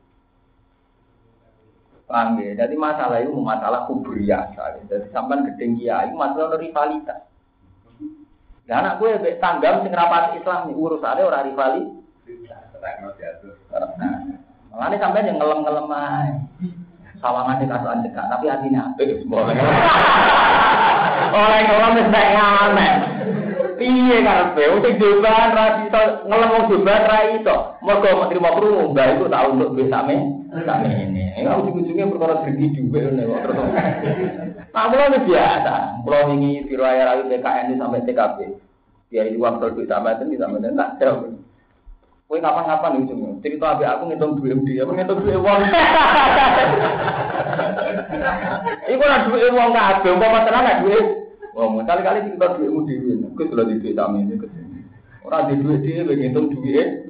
Paham ya? Jadi masalah itu masalah kubriyah. Jadi sampean gedeng kiai masalah rivalitas. Lah anak gue mbek tanggam sing rapati Islam urusane ora rivalitas. Mulane sampean yang ngelem-ngelem ae. sawangan dikasuhan cekak, tapi hatinya apik boleh. Orang wis nek ngamen. Piye karepe? Sing joban ra iso ngelem wong joban ra iso. Mergo menteri mau krungu, mbah iku tak untuk duit same ini. Ujung-ujungnya perkara dregi dhuwit ngene kok terus. Nah, mulai biasa. Pulau ini biro air ayu PKN sampai TKP. Dia itu uang duit sama itu tak jauh. Kowe kapan-kapan ujungnya. Cerita abe aku ngitung duit dia, aku ngitung duit uang. Iku ora duit uang kabeh, umpama tenan nek duit. Wong kali-kali kita duitmu dhewe. Aku sudah di duit sama ini. Ora di duit dhewe ngitung duit.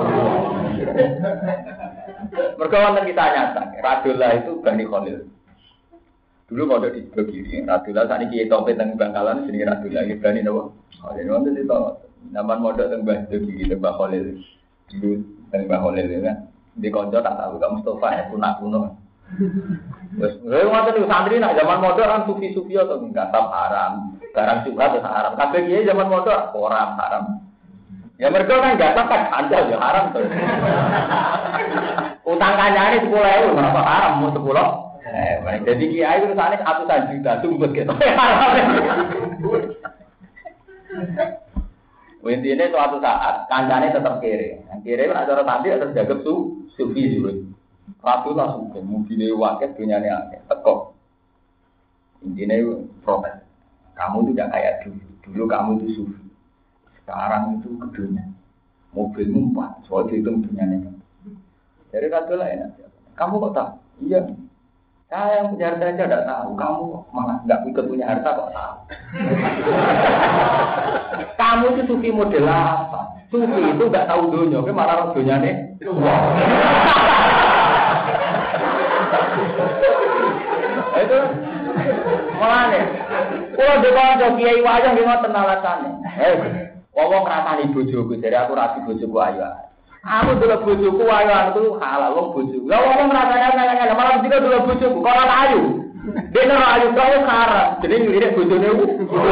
Mergo wonten kita nyata, Radullah itu Bani Khalil. Dulu mau di sebelah kiri, Radullah saat ini kita topet teng Bangkalan sini Radullah itu Bani Nawa. Khalil wonten itu nama modal teng Bani kiri teng Khalil. Dulu teng Khalil kan. Di konco tak tahu kamu Mustafa ya kuno. Wes, ngoten niku santri nak zaman modal kan sufi-sufi atau enggak haram. Barang juga terus haram. Kabeh kiye zaman modal orang haram. Ya mereka kan enggak kan andal ya haram tuh. Utang kancane 10.000 berapa haram mau 10. Jadi kiai itu sana 100 juta sumpet gitu. Intinya suatu saat kancane tetap kiri. Kiri kan acara tadi harus jaga sufi juga. Ratu langsung ke mobilnya wakil dunia ini akeh tekok. Intinya protes. Kamu tidak kayak dulu. Dulu kamu itu sufi. Sekarang itu kedunya. Mobilmu 4. Soalnya itu dunia ini. Jadi Ratu lah enak. Kamu kok tahu? Iya. Saya yang punya harta aja tidak tahu. Kamu malah nggak ikut punya harta kok tahu. Kamu itu sufi model apa? Sufi itu nggak tahu dunia. Tapi malah dunia ini. Itu malah nih. Kalau dekat kiai wajah gimana tenalasannya? Ngomong rasani bojoku, jadi aku rasi bojoku ayo. Aku dulu bojoku ayo itu halal wong bojoku. Lah ngomong rasanya malah juga dulu bojoku, kalau ayu. Dia nang ayu kau karam, jadi ngelirik bojone ku.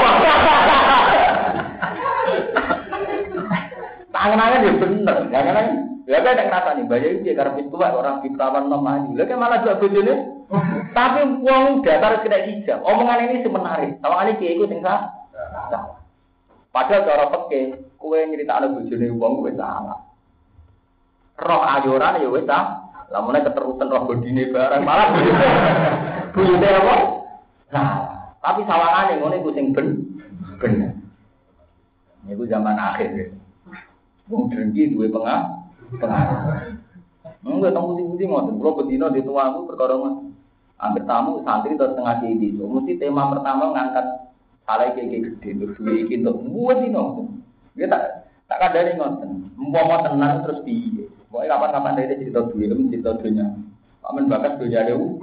Tangan-tangan dia bener, jangan lah kan nek rasane bayar iki karep tuwa orang fitrawan nom ayu. Lah kan malah dua bojone. Tapi wong datar kena hijab. Omongan ini semenarik. Tawangane kiai iku sing salah. Padahal cara peke, kowe nyritakno bojone wong kowe salah. Roh ayoran ya wis ta. Lamune keterusan roh bodine barang malah bojone apa? Nah, tapi sawangane ngono iku sing bener. Niku zaman akhir. Wong drengki duwe pengaruh. Enggak tahu putih-putih ngoten. Kulo bedino di tuaku perkara ngoten. Hampir tamu santri terus tengah di itu. Mesti tema pertama ngangkat salah kayak gede terus duwe iki entuk buat dino. Dia tak kadane ngoten. Umpama tenan terus piye? Pokoke kapan-kapan dhek cerita duwe cerita dunya. Amen bakat dunya dewe.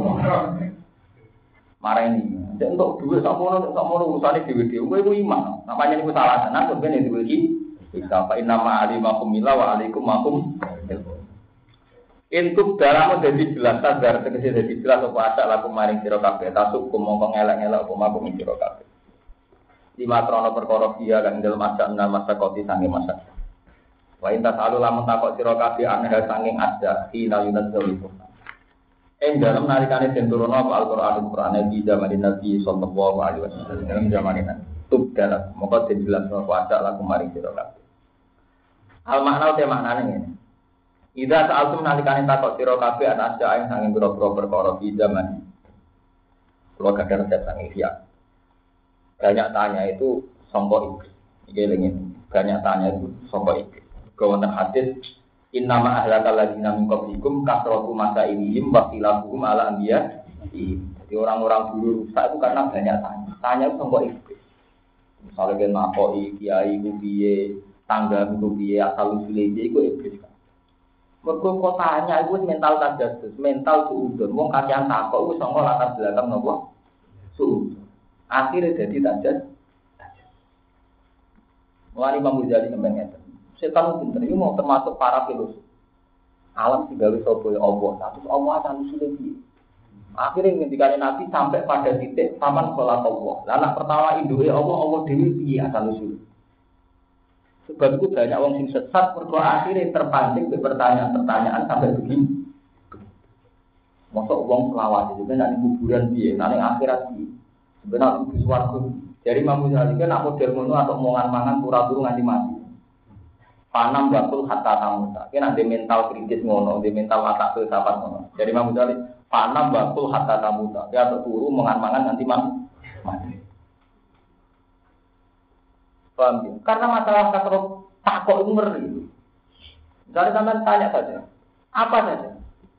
Marah ini. Nek entuk duwe sakmono urusane dhewe-dhewe. Kowe iku iman. Namanya niku salah tenan kok ben duwe iki. Kita fa inna ma'alimakum mila wa alaikum makum. Intub dalam dadi jelas sadar tegese dadi jelas apa asak laku maring sira kabeh tasuk mongko ngelak-ngelak apa makum sira kabeh. Lima krono perkara dia kang dalem asak nang masa koti sange masa. Wa inta salu lamun takok sira kabeh aneh sanging ada hina yunadzul. Dalam nalikane den turun apa Al-Qur'an di zaman Nabi sallallahu alaihi wasallam dalam zaman ini. Tub dalam mongko den jelas apa asak laku maring sira kabeh. Al makna te maknane ngene. Ida sa'altum nalikane takok sira kabeh ana aja ing sanging pira-pira perkara di zaman. Kulo kadang resep sanging siap. Banyak tanya itu sangka iblis. Iki lengin. Banyak tanya itu sangka iblis. Wonten hadis innama ahlakal ladzina min qablikum kasratu masailihim wa khilafuhum ala anbiya. Jadi orang-orang dulu rusak itu karena banyak tanya. Tanya itu sangka iblis. Misalnya kan makoi kiai ku piye, tangga ku piye, asal usule iku iblis. Mergo kotanya iku mental tajadus, mental suudon. Wong kakean takok wis sanga latar belakang napa? Suudon. Akhire dadi tajadus. Mulane Imam Ghazali sampeyan ngeten. Setan pinter iki mau termasuk para filosof. Alam digawe sapa ya Allah, terus Allah asal usule piye? Akhire ngendikane Nabi sampai pada titik taman sholat Allah. Lah anak pertama induke Allah dhewe piye asal usule? Sebab itu banyak orang yang sesat, mereka akhirnya terpancing ke pertanyaan-pertanyaan sampai begini. Mosok wong selawat itu kan ning kuburan piye, ning akhirat piye. Sebenarnya itu swarga. Jadi Imam Ghazali kan nak model ngono atau mangan turu nganti mati. Panam batul hatta tamuta. Kena ada mental kritis ngono, ada mental mata filsafat ngono. Jadi Imam Ghazali panam batul hatta tamuta. Dia turu mangan nanti mati. Paham ya? Karena masalah kasro takok itu ngeri. Misalnya sampean tanya saja, apa saja?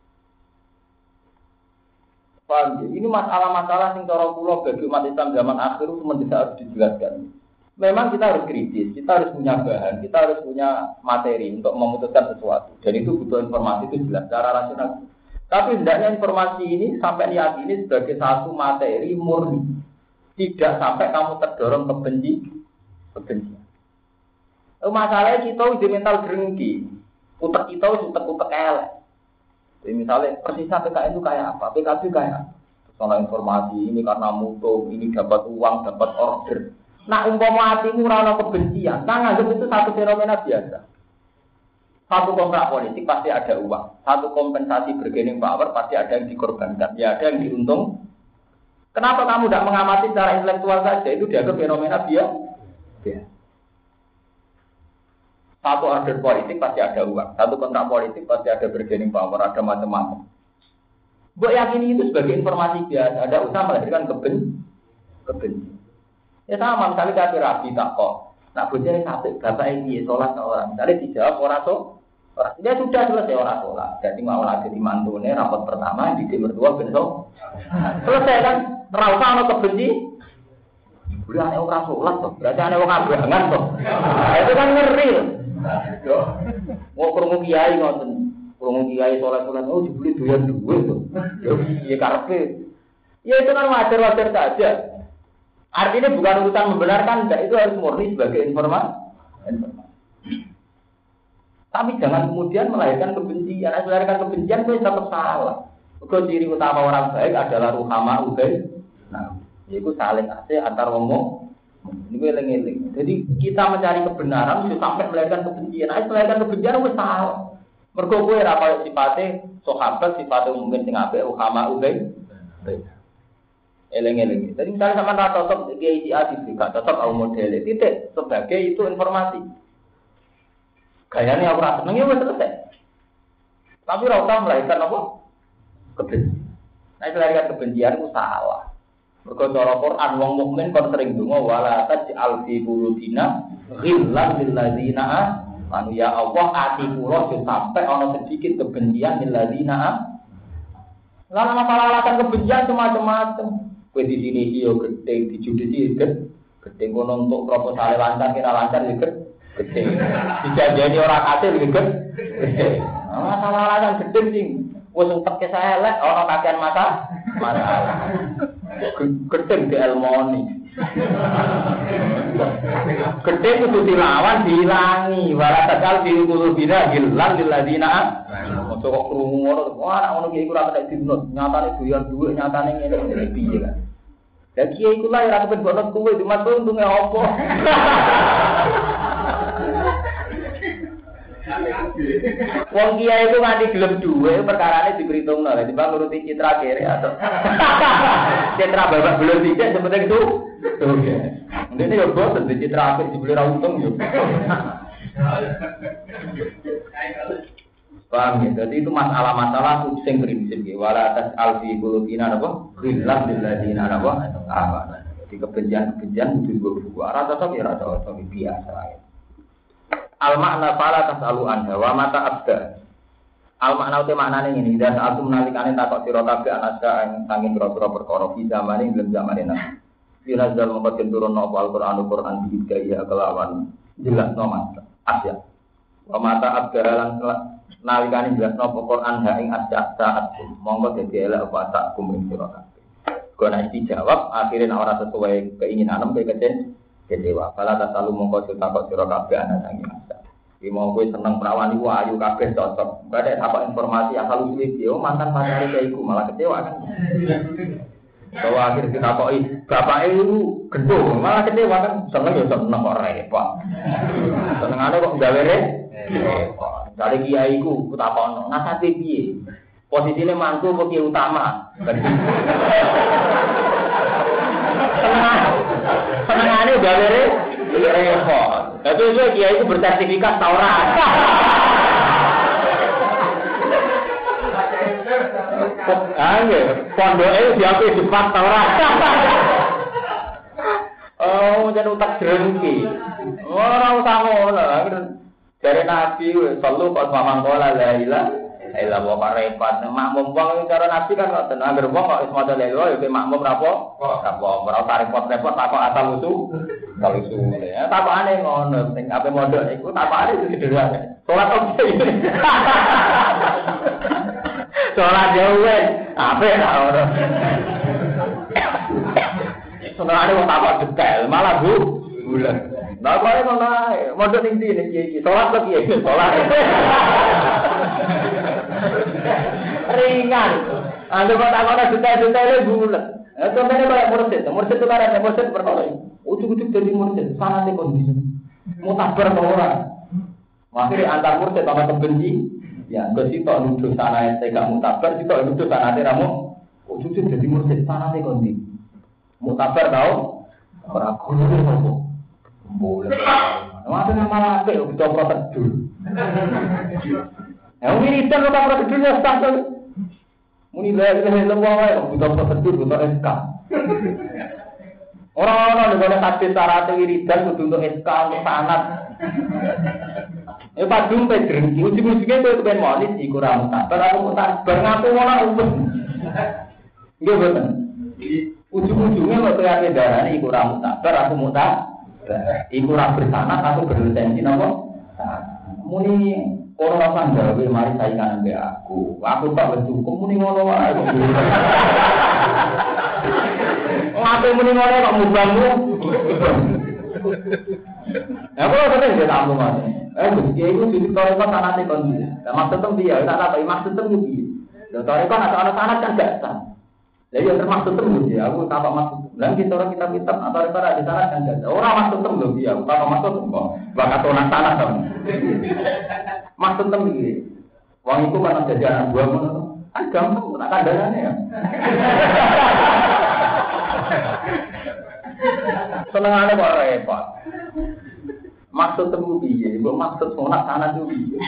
Paham ya? Ini masalah-masalah sing cara kula bagi umat Islam zaman akhir itu mendesak harus dijelaskan. Memang kita harus kritis, kita harus punya bahan, kita harus punya materi untuk memutuskan sesuatu. Dan itu butuh informasi itu jelas secara rasional. Tapi hendaknya informasi ini sampai diyakini sebagai satu materi murni. Tidak sampai kamu terdorong kebencian. Masalahnya kita udah mental drengki. Utek kita utek elek. Jadi misalnya persisnya PKN itu kayak apa? PKB kayak apa? Soal informasi ini karena mutu, ini dapat uang, dapat order. Nah, umpama hatimu ora kebencian, kan anggap itu satu fenomena biasa. Satu kontrak politik pasti ada uang, satu kompensasi bargaining power pasti ada yang dikorbankan, ya ada yang diuntung. Kenapa kamu tidak mengamati secara intelektual saja? Itu dianggap fenomena biasa. Satu order politik pasti ada uang, satu kontrak politik pasti ada bargaining power, ada macam-macam. Mbok yakini itu sebagai informasi biasa, ada usaha melahirkan kebencian. Ya sama, misalnya kafir rabi tak kok. Nak bujane sampai bapak ini sholat orang. Misalnya dijawab orang dia sudah selesai orang sholat. Jadi mau lagi di mantune rapat pertama di berdua besok. Selesai kan? Rasa ono kebenci. Udah ane orang sholat toh. Berarti ane wong abangan toh. Itu kan ngeri. Mau krungu kiai ngoten. Krungu kiai sholat oh dibeli doyan duit toh. Ya karepe. Ya itu kan wajar-wajar saja. Artinya bukan urusan membenarkan, enggak, itu harus murni sebagai informasi. Tapi jangan kemudian melahirkan kebencian. Melahirkan kebencian itu tetap salah. Because ciri utama orang baik adalah ruhama ubaid. Nah, itu saling asih antar ngomong. Ini eling-eling. Jadi kita mencari kebenaran itu sampai melahirkan kebencian. Melahirkan kebencian itu salah. Mergo kowe ora kaya sifate sahabat, sifate mungkin sing apik ruhama ubaid. Eleng-eleng. Jadi misalnya sama rata top GIA juga tetap au model titik sebagai itu informasi. Gayanya aku rasa seneng ya selesai. Tapi rata melahirkan apa? Kebencian. Nah itu melahirkan kebencian itu salah. Mergo cara Quran wong mukmin kon sering donga wala taj'al fi qulubina ghillan lil ladzina amanu ya Allah ati kula sampai ana sedikit kebencian lil ladzina. Lalu masalah alasan kebencian macam-macam. Kue di sini iyo gede, di judisi gede kono untuk proposal lancar kira lancar juga gede. Dijanjani orang hasil juga gede. Masalah alasan gede sih. Wes untuk kisah elek orang kakean masalah. Gede di Elmoni. Gede itu dilawan dihilangi. Walatakal diukur bina hilang diladina. Masuk kok krungu ngono, wah anak ngono kiai ku ora kena dinut, nyatane doyan dhuwit, nyatane ngene piye kan. Lah kiai ku lah ora kepen bonot kuwe, cuma untunge apa. Wong kiai itu nganti gelem dhuwit, perkarane diperhitungno, lha timbang nuruti citra kere atau citra babak belum dikek sepenting itu. Oke. Ndene yo boten di citra apik dibeli ra untung yo. Paham ya? Jadi itu masalah-masalah sing prinsip ya. Wala tas'al fi qulubina apa? Ghillan lil ladzina apa? Jadi kebencian itu juga buku. Rata tapi biasa ya. Al makna fala tas'alu anha wa mata abda. Al makna uti maknane ngene, dan saat menalikane takok sira kabeh anaska ing sanging pira-pira perkara fi zamane ing zamane nang. Ila zal mungkin turun apa Al-Qur'an bidaya kelawan jelasno mas. Asya. Wa mata abda lan nalikane jelasno Quran ha ing asya-saat monggo dadi elek apa tak kuming sira kabeh. Kena dijawab akhirnya ora sesuai keinginan kowe kecewa. Kala tak selalu mongko takok sira kabeh ana sangi masa. Iki mau kowe seneng perawan iku ayu kabeh cocok. Badhe apa informasi asal usul iki mantan pacare kaya iku malah kecewa kan. Bahwa akhir ditakoki bapake iku gendho malah kecewa kan seneng ya seneng kok repot. Senengane kok gawe repot. Dari kiai ku takokno, nasate piye? Posisinya mantu bagi utama. Senengannya udah repot. Tapi itu dia itu bersertifikat Taurat. Pondoknya diakui sifat Taurat. Oh, jadi utak jerengki. Orang usah ngono. Dari Nabi, selalu pas mamang kola la ilah bawa repot. Makmum wong cara Nabi kan kok tenang gerbong kok wis maca lelo ya makmum rapo? Rapo ora repot-repot takok asal usul. Asal usul. Ya takokane ngono, sing ape mondok iku takokane itu sederhana. Salat oke. Salat jauh ape ra ora. Senengane wong takok detail, malah bulan. Nah, kok ngono ae, mondok ning ndi iki? Salat kok piye? Salat. Ringan. Anda kok takon detail-detaile bulet. Contohnya kayak mursid itu kan ada mursid perkara ini. Ujuk-ujuk jadi mursid, sanate kondisi. Mutabar to ora? Akhirnya antar mursid sama kebenci. Ya, ke situ nuduh sanate gak mutabar, situ nuduh sanate ramu. Ujuk-ujuk jadi mursid, sanate kondisi. Mutabar tau? Ora kudu. Boleh. Waduh nama apik kok coba prosedur. Ya wiridan kok prosedurnya standar. Muni lha wae kok butuh prosedur butuh SK. Orang-orang nek hadis syarat wiridan kudu untuk SK untuk sanad. Padung pe drengki ujug-ujuge kowe kepen monis iku ra mutabar aku mutabar ngaku ngono umum. Nggih boten. Ujug-ujugnya kok kaya darane iku ra mutabar aku mutabar. Iku ora bersanad atau berlisensi napa? Muni ora usah gawe mari saingan ambek aku. Aku tak wis cukup muni ngono wae kok. Ngapain muni ngono kok mubangmu? Ya kok sering dia tamu Mas. Gusti iku ditorek sanate kon. Lah maksud tem dia, tak apa maksud tem iki. Lha torek kan ana sanad kan gak sah. Lah ya termasuk tem ya, aku tak maksud. Lah kita orang kitab-kitab atau referat di sana kan enggak. Ora maksud tem lho ya, tak maksud kok. Bakat orang sana to. Maksud tem iki. Wong iku kan dadi anak buah ngono to. Kan gampang tak kandhane ya. Senengane kok repot. Maksud tem piye? Mbok maksud sunat sana itu piye?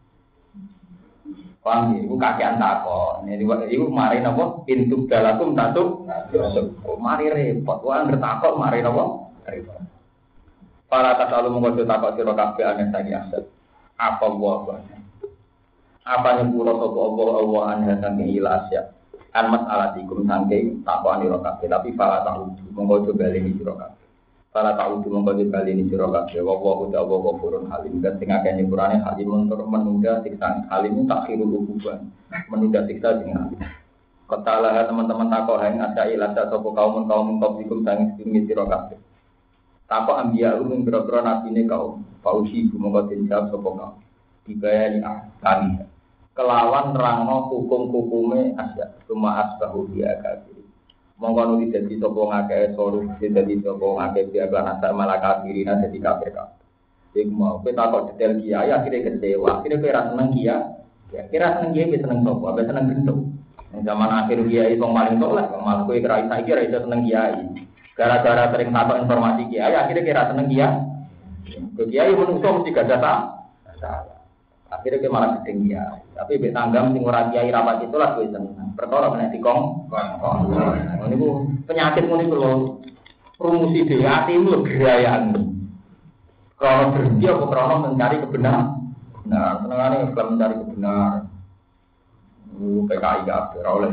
Paham ya, itu kakean takon. Itu mari napa? Pintu dalakum satu. Mari repot. Wah bertakok mari napa? Repot. Para tasalu mengkodo takok sira kabeh aneh saiki aset. Apa wae. Apa nyepuro sapa Allah aneh saking ilasya. An mas'alatikum saking takokane sira kabeh, tapi para tahu mengkodo baleni sira kabeh. Para tahu mengkodo baleni sira kabeh. Wa uta wa ghafurun halim. Dan sing akeh nyepurane halim menunda siksa halim takhirul uquban. Menunda siksa sing halim. Ketalah teman-teman takok hang ada ilasya sapa kaum qablikum sang sing sira kabeh. Takok ambiya umum boro-boro nabine kaum. Fausi mongko dijawab sapa kaum. Dibayani kali. Kelawan nerangno hukum-hukume asya. Cuma asbahu dia kafir. Monggo nuli dadi sapa ngakeh soru dadi sapa ngakeh dia asal malah kafirina dadi kafir kabeh. Iku mau kowe takok detail kiai akhire kecewa. Akhire kowe ra seneng kiai. Kira seneng kiai seneng sapa? Apa seneng bentuk. Ning zaman akhir kiai wong paling tolak malah kowe kira saiki ra iso seneng kiai. Gara-gara sering takok informasi kiai akhire kira seneng kiai. Kiai menungso mesti gak ada salah. Akhirnya dia malah gedeng ya. Tapi bek tanggam sing ora kiai rapat itu lah kowe seneng. Perkara menek dikong. Niku penyakit ngene lho. Rumusi dhewe atimu gerayan. Kalau berhenti apa krono mencari kebenaran. Nah, senengane kalau mencari kebenaran. PKI gak ora oleh.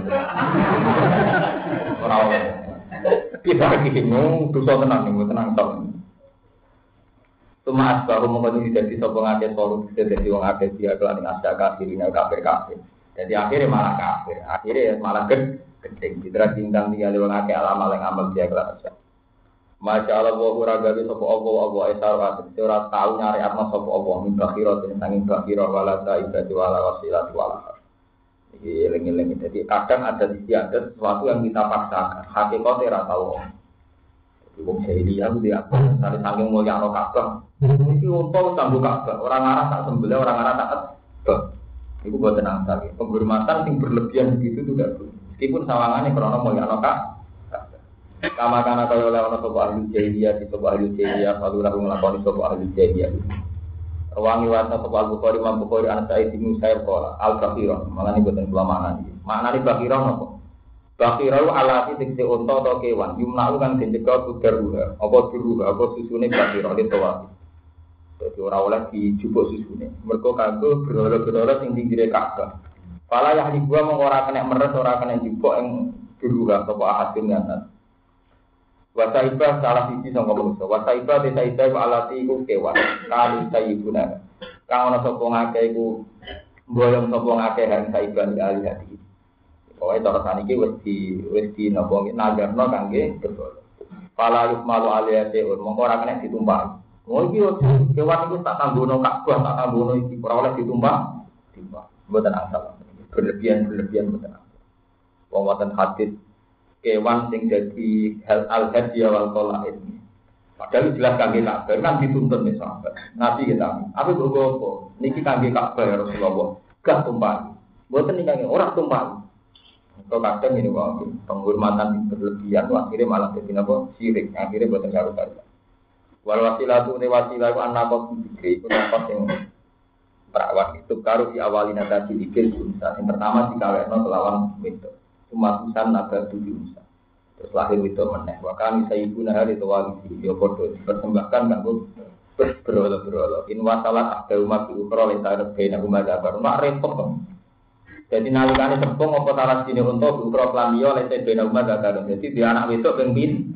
Ora oleh. Kita bingung dosa tenang tok. Cuma asbaru mengkono jadi sapa ngake soru dadi wong akeh dia kelan asya kafirin kafir. Jadi akhirnya malah kafir. Akhirnya malah gedeng diterus bintang tinggal wong akeh amal yang amal dia kelan asya. Masya Allah wa uragawi sapa Allah esara ora tau nyari atma sapa Allah min bakhirat sanging bakhirat wala saibati wala wasilati wala. Iki eling-eling dadi kadang ada istiadat sesuatu yang kita paksakan. Hakikate ora tau. Wong jahiliyah ku dia apa? Dari saking mulia ana Ka'bah. Iki unta sambung Ka'bah, orang arah tak sembelih, orang arah tak Iku buat tenang sekali. Penghormatan yang berlebihan begitu itu tidak boleh. Meskipun sawangannya karena mau yang kak. Kama kana kaya oleh ana sapa ahli jahiliyah di sapa ahli jahiliyah lalu lalu nglakoni sapa ahli jahiliyah. Rawangi wasa sapa Al-Bukhari Imam Bukhari an Sa'id bin Musayyib qala al-Bakhirah. Malane boten kula maknani. Maknane Bakhirah napa? Bakhirah alati tekse unta atau kewan. Yumna'u kang dijaga kudaruha. Apa duruha apa susune Bakhirah ditawati. Dadi ora oleh dijupuk susune. Mergo kanggo berhala-berhala sing pinggire Ka'bah. Fala yahlibuha mung ora kena meres ora kena jupuk ing duruha sapa ahadin ngaten. Wasaibah salah siji sangka manusa. Wasaibah desa-desa alati iku kewan. Kali sayibuna. Kang ana sapa ngake iku mboyong sapa ngake hang saibah ali hati. Pokoke cara saniki wis di napa nagarno kangge berhala. Fala yukmalu aliyate mongko ora kena ditumpah. Oh iki kewan iku tak tanggono Ka'bah, tak tanggono iki ora oleh ditumpah. Timbang. Mboten asal. Berlebihan mboten asal. Wong wonten hadis kewan sing jadi al-hadiyah wal qalaid. Padahal jelas kangge Ka'bah kan dituntut nih sahabat. Nabi kita, apa apa? Niki kangge Ka'bah ya Rasulullah. Gak tumpah. Mboten niki kangge ora tumpah. Kok kadang ini wae penghormatan berlebihan akhirnya malah jadi napa syirik. Akhirnya mboten karo-karo. Wal wasilatu ne wasilah ku anak kok iki ku tempat sing perawat itu karo di awalina tadi dikir unsa. Yang pertama dikawekno kelawan wedok. Umatusan naga dunia terus lahir itu meneh wakami sayyiduna hari tawali yo padha dipersembahkan kanggo berhala-berhala in wasalat ada umat ukra lentar bena umat abar mak repot. Jadi nalikane sempung apa salah sini untuk ukra lan yo lentar bena umat abar. Jadi di anak wedok ping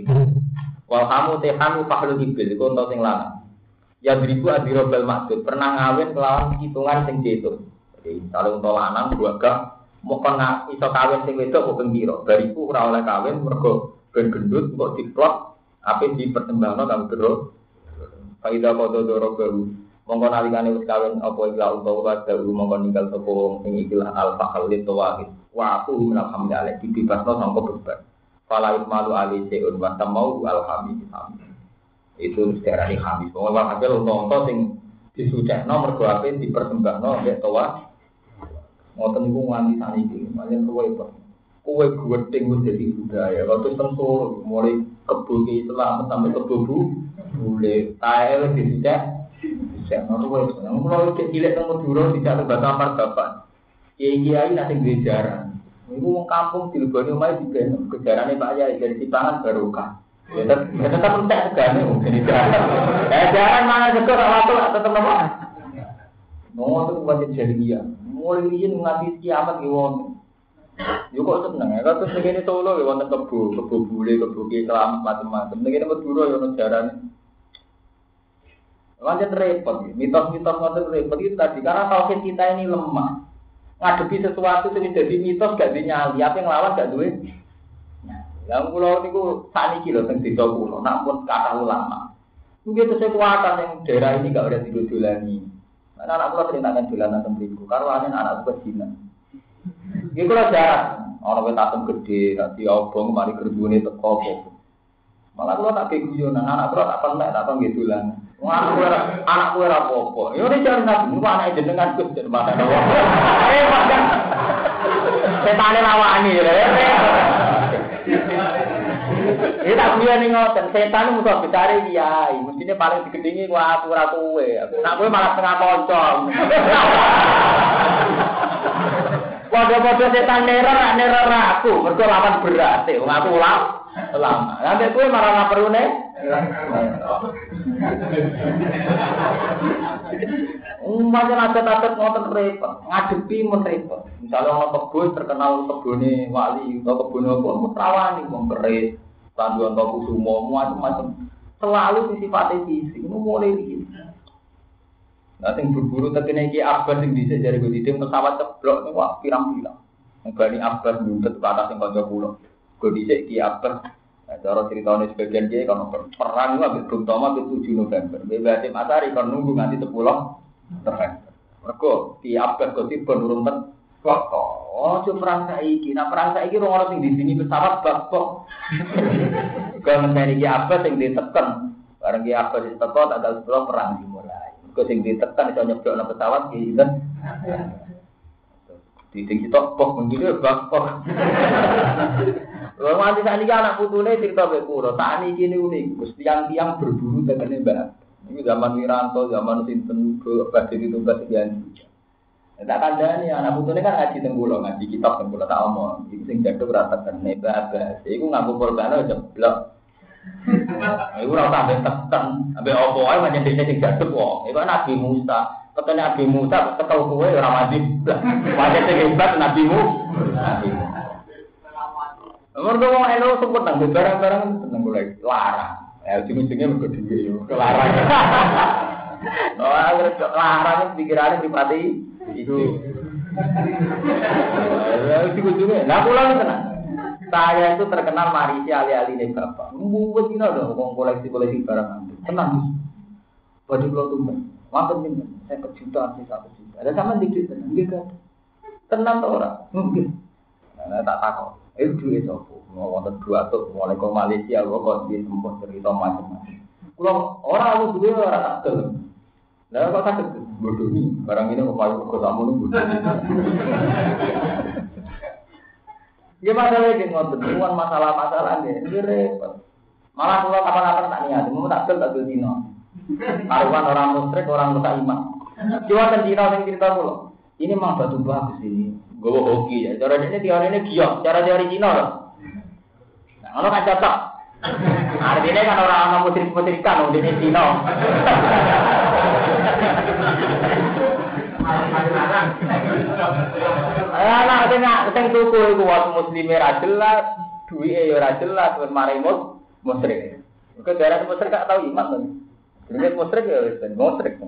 wal hamu tehanu fahlu ibil iku ento sing lanang. Ya beribu adirobal maksud pernah ngawin kelawan hitungan sing diitung. Jadi kalau untuk lanang dua gak mau kena iso kawin sing wedok kok pira bariku ora oleh kawin mergo ben gendut kok diplot ape dipertembangno kang bro faida kodoro baru mongko nalikane wis kawin apa ila utawa baru mongko ninggal sapa sing ikilah al faqalit tawahid wa aku alhamdulillah dibebasno sangka beban fala malu ali seun wa tamau alhamid itu sejarah khamis wong hasil unta sing disucekno mergo ape dipertembangno mek tawah ngoten niku nganti saniki, paling kowe gedeng wis dadi budaya. Waktu sentuh mulai kebo iki Islam sampai kebo boleh tae wis dicek. Dicek ngono wae. Mulai cilik nang Madura dicek batang margaban. Kiai-kiai nate duwe jaran. Niku wong kampung dileboni omahe diben kejarane Pak Yai dari Sipangan barokah. Ya tetep entek segane wong jadi jaran. Jaran mana sekor waktu tetep apa? Ngono wae jadi mulai yen nganti kiamat ki wong. Yo kok seneng ya, terus ngene Solo ya wonten kebo bule, kebo kelam macam-macam. Ngene Madura ya ono jarane. Wancen repot, mitos-mitos ngoten repot itu tadi karena tauhid kita ini lemah. Ngadepi sesuatu sing dadi mitos gak dinyali, apa yang lawan gak duwe. Lah kula niku sakniki lho teng desa kula, nak pun kata ulama. Mungkin itu kekuatan yang daerah ini gak ada didolani. Anak kula ceritakan dolanan teng mriku, karo anak kecil. Iki kula jarang ana wit atom gede, dadi obong mari gerbune teko apa. Malah kula tak guyonan, anak kula tak pentek tak nggih dolanan. Wong anakku ora apa-apa. Ya ora jarang niku anake jenengan Gus jen padha. Padha. Setane lawani lho. Iki tak biyane ngoten, setan musuh besare kiai, mestine paling digedhingi ku aku ora kowe. Nek kowe malah setengah kanca. Padha-padha setan neror aku, mergo lawan berat, wong aku lama. Lah nek kowe malah ngaperune. Macam adat-adat ngoten repot, ngadepi men repot. Misalnya orang kebun terkenal kebune wali atau kebune apa, rawani wong keris. Tanduan toko sumo, macam-macam. Selalu sifatnya fisik, itu mulai begini. Nanti berburu terkena Ki Akbar yang bisa jadi begitu pesawat ceblok, wah pirang-pirang. Bani Akbar nuntut ke atas yang kocok pulau. Gue bisa Ki Akbar. Cara ceritanya sebagian dia kalau perang itu habis Bung Toma itu 7 November. Bebas Masari kan nunggu nanti 10 November. Mereka Ki Akbar ketiban urung oh, cuma perang saiki. Nah perang saiki orang sing di sini pesawat bakpok. Kalau mencari Ki Abbas sing ditekan, bareng Ki Abbas ditekan tanggal 10 perang dimulai. Kau sing ditekan iso nyeblokno pesawat ki sinten? Diting kita pok menggile bapok. Lha nganti sakniki anak putune cerita mek kula, sakniki niku Gus tiang-tiang berburu tekene Mbak. Iki zaman Wiranto, zaman sinten badhe ditugas sekian. Tak kandhani anak putune kan ngaji teng kula, ngaji kitab teng kula tak omong. Iki sing jaduk ora tekene Mbak. Iku nganggo korban jeblok. Iku ora sampe teken, ambek opo ae pancen dene sing jaduk wong. Iku Nabi Musa. Ketene Nabi Musa tekel kowe ora mati. Pancen sing hebat Nabi Musa. Mergo wong elo sebut nang barang-barang seneng golek larang. Ya ujung-ujungnya mergo dhewe yo kelarang. Oh, larang pikirane dipati itu. Ya ujung-ujungnya. Lah kula tenan. Saya itu terkenal marisi ali-aline bapak. Mbuwet dina lho wong koleksi-koleksi barang. Tenang. Bodi kula tumben. Wonten pinten? 50 juta, 1 juta. Ada sampean dikit tenan, nggih kan? Tenan to ora? Nggih. Nah, tak takok. Duwe sapa? Mau wonten dua tuh mulai ke Malaysia kok di tempat cerita macam-macam. Kula ora duwe ora tak gelem. Lah kok tak bodoh ni barang ini kok kok tamu nunggu. Ya masalah iki ngoten, bukan masalah-masalah nggih repot. Malah kula kapan-kapan tak niat, mau tak gel tak gel dino. Karuan orang musyrik, orang buta iman. Cuma ten dino sing cerita kula. Ini mah batu bagus ini. Gowo hoki ya. Cara ini teori ini giok, cara teori Cina loh. Nah, kalau kan cocok. Artinya kan orang musyrik-musyrikan di Cina. Nah, tengah tuku iku waktu muslime ra jelas, duwike ya ora jelas, wis mari musyrik. Kok daerah musyrik gak tau iman to. Jenenge musyrik ya wis musyrik.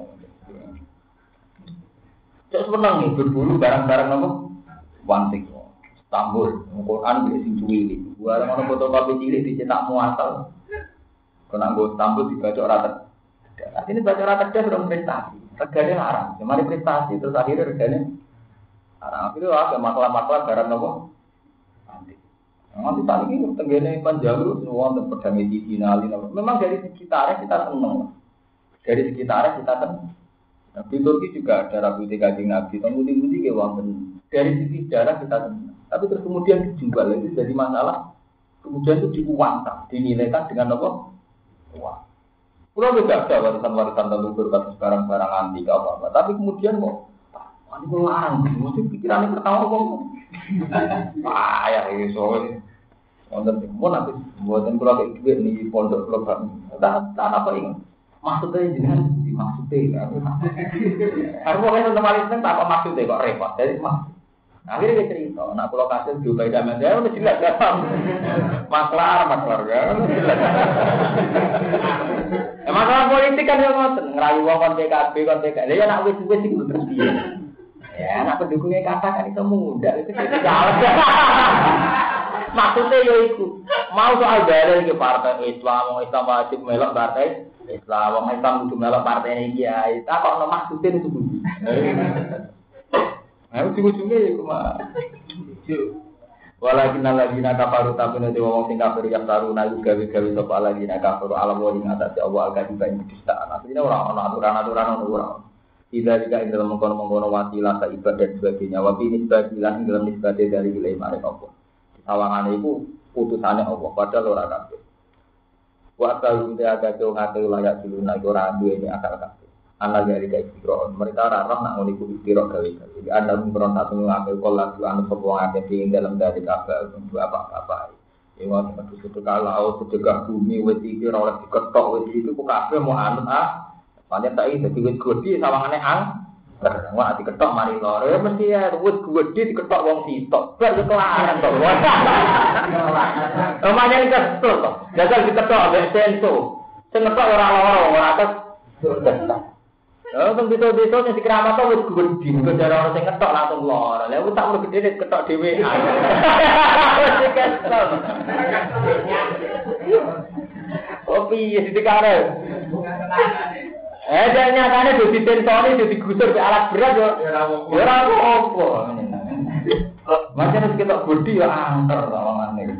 Cok seneng nih berburu barang-barang apa? Wantik. Istanbul, Quran bisa sing cuwili. Barang ana fotokopi cilik dicetak muasal. Kena nggo Istanbul dibaca rata. Artinya baca rata dia sudah prestasi. Regane larang. Mari prestasi terus akhirnya regane larang. Itu ada masalah-masalah barang apa? Wantik. Nanti tadi ini tenggene panjalu semua untuk pedang medicinalin. Memang dari sekitarnya kita seneng. Dari sekitarnya kita seneng. Di Turki juga ada Rabu Kanjeng Nabi. Kemudian ke wonten dari sisi sejarah kita senang. Tapi terus kemudian dijual itu jadi masalah. Kemudian itu diuangkan, dinilaikan dengan apa? Uang. Pulau juga ada warisan-warisan leluhur kasus barang-barang antik apa-apa. Tapi kemudian kok ini kok larang. Mesti pikirannya pertama kok. Ya ini soalnya. Wonten pun habis buatan pulau kayak duit nih pondok pulau. Tak apa ingat. Maksudnya jangan dimaksudnya. Aku mau nonton malis neng tak apa maksudnya kok repot. Jadi akhirnya dia cerita, nak pulau kasih juga idaman dia udah jelas ya. Maklar ya. Masalah politik kan yang ngoten, ngerayu wong PKB. Dia nak wis itu terus dia. Ya, nak pendukungnya katakan itu mudah itu salah. Maksudnya ya itu mau soal dalil ke partai Islam wajib melok partai Islam, wong Islam kudu melok partai iki ae. Tak kok ono maksude itu kudu. Nah, ujung-ujungnya ya cuma walakin alladzina kafaru tabuna de wong sing kafir ya taruna gawe-gawe sapa alladzina kafaru alam wa ing atase Allah al-kadiba ing kedustaan. Asline ora ono aturan-aturan ora. Tidak jika ing dalam mengkono-mengkono wasilah sa ibadah sebagainya wa bi nisbatilah ing dalam nisbate dari wilayah marek apa. Sawangane iku putusane Allah padahal ora kabeh. Wa ta'alum te agak ngate layak dulu nek ora duwe akal kabeh. Ana dari istiro mereka ora roh nak ngono iku istiro gawe-gawe. Jadi ana mung satu ngake kala anu sapa ngake ing dalam dari kabeh untuk apa-apa. Ewa satu kalau sedekah bumi wis iki ora oleh diketok wis iki kok kabeh mau anut Pancen tak iki dadi wit gedhi sawangane wong ati ketok mari loro mesti ya wit gedhi diketok wong sitok. Bar kelaran to. Omane kesel to. Jajal diketok ambek senso. Sing ketok ora loro ora atas. Teng dito-dito sing dikeramat to wit gedhi kok ora sing ketok langsung loro. Lah wis tak mung gedhe ketok dhewe. Wis kesel. Oh piye dikare? Dan nyatanya udah ditensori, udah digusur ke alat berat ya. Ya apa-apa. Macam itu kita bodi ya angker lawangannya.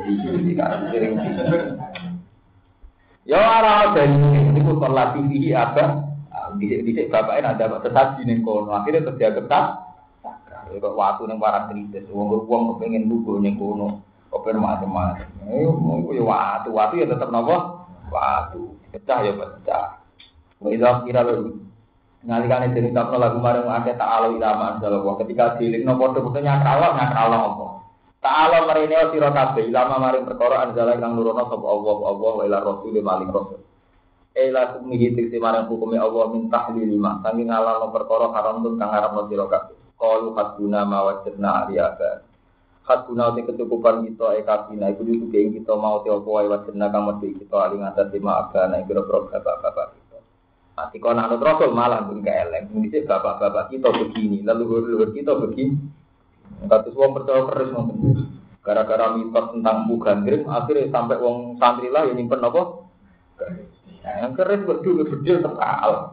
Ya orang dan ini pun terlatih apa. Disik bapaknya ada tetap di kono. Akhirnya terjadi ketat. kok watu ning barang kritis. Wong kepengin lugu ning kono. Kok macam-macam. Yo watu ya tetep napa? Watu. Pecah ya pecah. Wis kira lho. Nalikane diritapno lagu marang akeh ta'ala ilama Allah ketika dilingno padha-padha nyakralo apa. Ta'ala marine sira kabeh ilama maring perkara anjala kang nurono sapa Allah wa ila rasul maling rasul. Ela kumihi tikse marang hukume Allah min tahlil lima saking ngalalo perkara haram tun kang arep sira kabeh. Qalu haduna ma wajadna aliyaka. Haduna te kecukupan kita kabina iku dudu kita mau te apa wae wajadna kang mesti kita aling atas lima agana ira-ira bapak-bapak. Mati kau nak rasul malah pun keleng. Ini bapak-bapak kita begini, leluhur-leluhur kita begini. Katus wong percaya keris ngoten. Gara-gara mitos tentang gandring, akhirnya sampai wong santri lah yang nyimpen apa? Yang keris berdua terkal.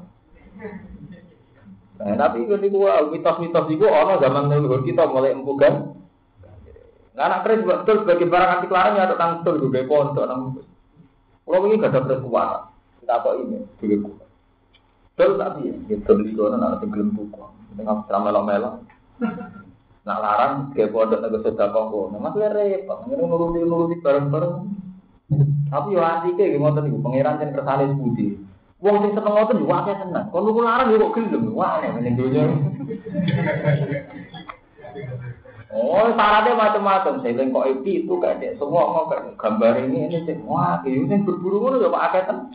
Nah, tapi kalau mitos-mitos itu orang zaman leluhur kita mulai empukan. Nah, anak keris betul sebagai barang antik larang ya tentang betul juga pondok nang. Kalau ini gak ada berkuasa. Kita apa ini? Juga betul tapi ya, beli kono nak tenggelam buku, tengah ramelo-melo. Nak larang kayak pondok nego sedekah kono, masih repot, nuruti bareng-bareng. Tapi yo antike nggih ngoten niku, pangeran jan kersane budi. Wong sing seneng ngoten yo akeh tenan. Kon niku larang yo kok gelem, wah aneh ning donya. Oh, syaratnya macam-macam. Saya kok itu kayak semua mau gambar ini sih. Wah, iki sing berburu ngono yo akeh tenan.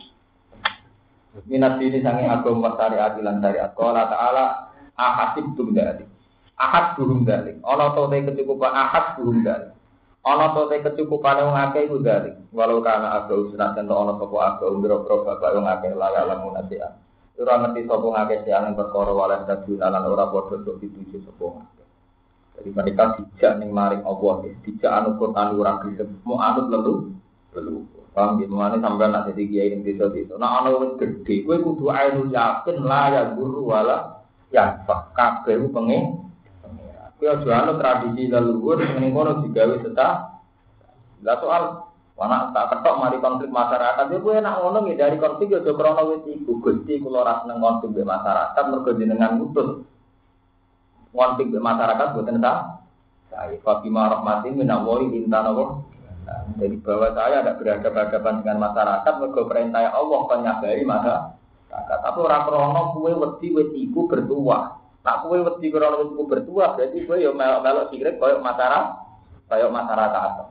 Minat ini sange agama syariat lan syariat. Qala ta'ala ahasib tunggali. Ahad burung dalik. Ana to te kecukupan ahad burung dalik. Ana to te kecukupan wong akeh iku dalik. Walau kana aga usnat ento ana sapa aga umbro-bro bapak wong akeh layak lamun atian. Ora ngerti sapa ngakeh siang perkara walah daduna lan ora padha sok dituju sapa akeh. Jadi mereka dijak ning maring Allah, dijak anu Quran ora gelem, mau anut lelu. Paham gitu, mana sampai nak jadi kiai yang desa-desa. Nah, anak wis gede, kowe kudu ainul yakin lah ya guru wala ya kabeh ku pengen. Kowe aja ana tradisi leluhur sing ngono digawe setah. Lah soal anak tak ketok mari konflik masyarakat, ya kowe nak ngono ngindari konflik aja krana wis iku. Gusti kula ora seneng konflik be masyarakat mergo jenengan ngutus. Konflik be masyarakat boten sah. Saya Fatimah rahmatin minallahi intanawa. Jadi bahwa saya ada berhadapan dengan masyarakat, mergo perintah Allah penyabari masyarakat. Tapi orang krono kue wedi iku bertuah. Nak kue wedi krono iku bertuah, berarti kue yo melok sirik koyo masyarakat.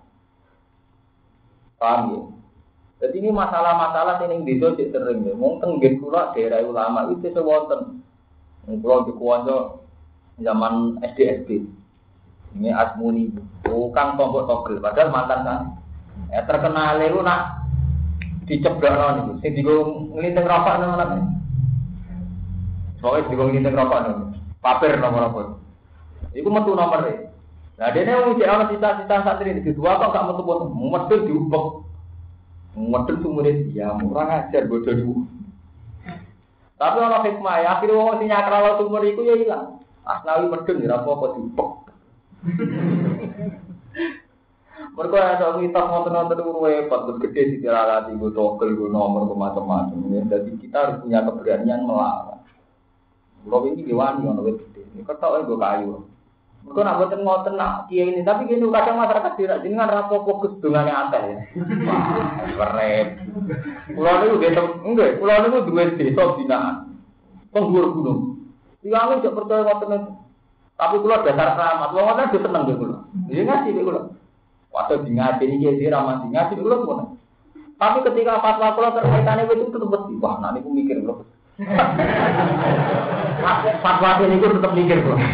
Paham ya? Jadi ini masalah-masalah sing desa sik sering ya. Mung teng nggih kula daerah ulama itu sewonten. Kula dikuwanto zaman SD. Ini Asmuni, bukan tombok togel, padahal mantan kan. Terkenal itu nak diceblok nih, sing digo ngelinting rokok nang mana? Soalnya digo ngelinting rokok nih, paper nomor apa? Iku metu nomor e. Nah dene wong cek ana cita-cita santri iki dua kok gak metu-metu, medhun diubek. Medhun sumure dia murah ajar bodoh dulu. Tapi ana hikmah ya, akhire wong sing nyakralo sumur iku ya ilang. Asnawi medhun ya apa diubek. Mereka ada mitos nonton repot, gede di jalan gue togel gue nomor macam-macam. Jadi kita harus punya keberanian melawan. Kalau ini diwani orang gede, ini ketok gue kayu. Mereka nak buat ngoten nak kiai ini, tapi gini kadang masyarakat tidak dengan rapo fokus dengan yang aneh ya. Keren. Pulau ini udah enggak, pulau ini dua desa binaan, penghulu gunung. Tiangnya tidak percaya ngoten itu. Tapi kalau dasar keramat, orang orang itu senang dulu. Dia ngasih dulu. Waktu di ngaji ini dia ramah di ngaji dulu pun. Tapi ketika fatwa kalau terkaitannya itu tetap bersih. Wah, nanti aku mikir dulu. Fatwa ini aku tetap mikir dulu.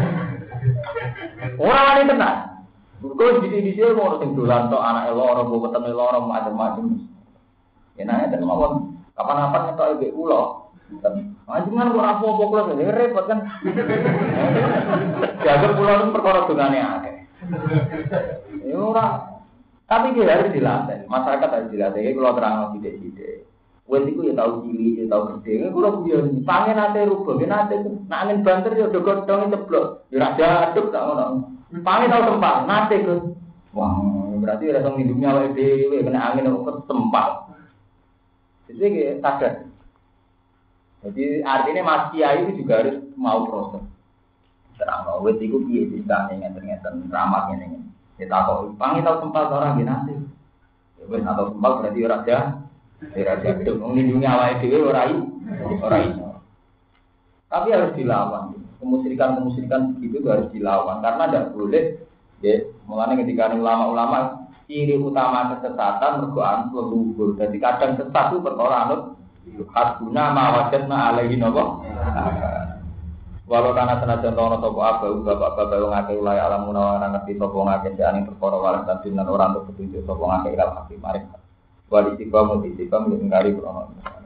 Orang ini tenang. Kalau di sini mau orang tinggalan atau anak elor, mau ketemu elor, macam-macam. Ya nanya dan mau kapan-kapan itu ibu ulo. Jangan kok apa-apa pulau ini repot kan. Jaga pulau itu perkara dungane akeh. Ya ora. Tapi dia harus dilatih. Masyarakat harus dilatih. Kalau terang sithik-sithik. Wes iku ya tau cilik, ya tau gede. Kulo biyen pangen ate rubah, nate nak angin banter ya do godhong ceblok. Ya ra aduk tak ngono. Pangen tau tempat, nate Gus. Wah, berarti ora tau ngidupnya awake dhewe kena angin kok tempat. Jadi sadar. Jadi artinya Mas Kiai itu juga harus mau proses. Terang wis iku piye ceritane ngeten-ngeten ramah ngene. Ya takok, "Pangi tau sempal ora nggih nate?" Ya wis atau sempal berarti ora ada. Ora ada itu nglindungi awake dhewe ora iso. Tapi harus dilawan. Kemusyrikan begitu itu harus dilawan karena tidak boleh ya, mulanya ketika ulama-ulama ciri utama kesesatan mergo anut leluhur. Jadi kadang sesat itu perkara anut hasbuna ma wajadna alaihi napa. Walau karena senajan tono sapa abu bapak-bapak wong akeh ulai alam menawa ora ngerti sapa ngakeh jane perkara waras dan ora untuk petunjuk sapa ngakeh ilal hakim mari. Wa disibam disibam ngari krono.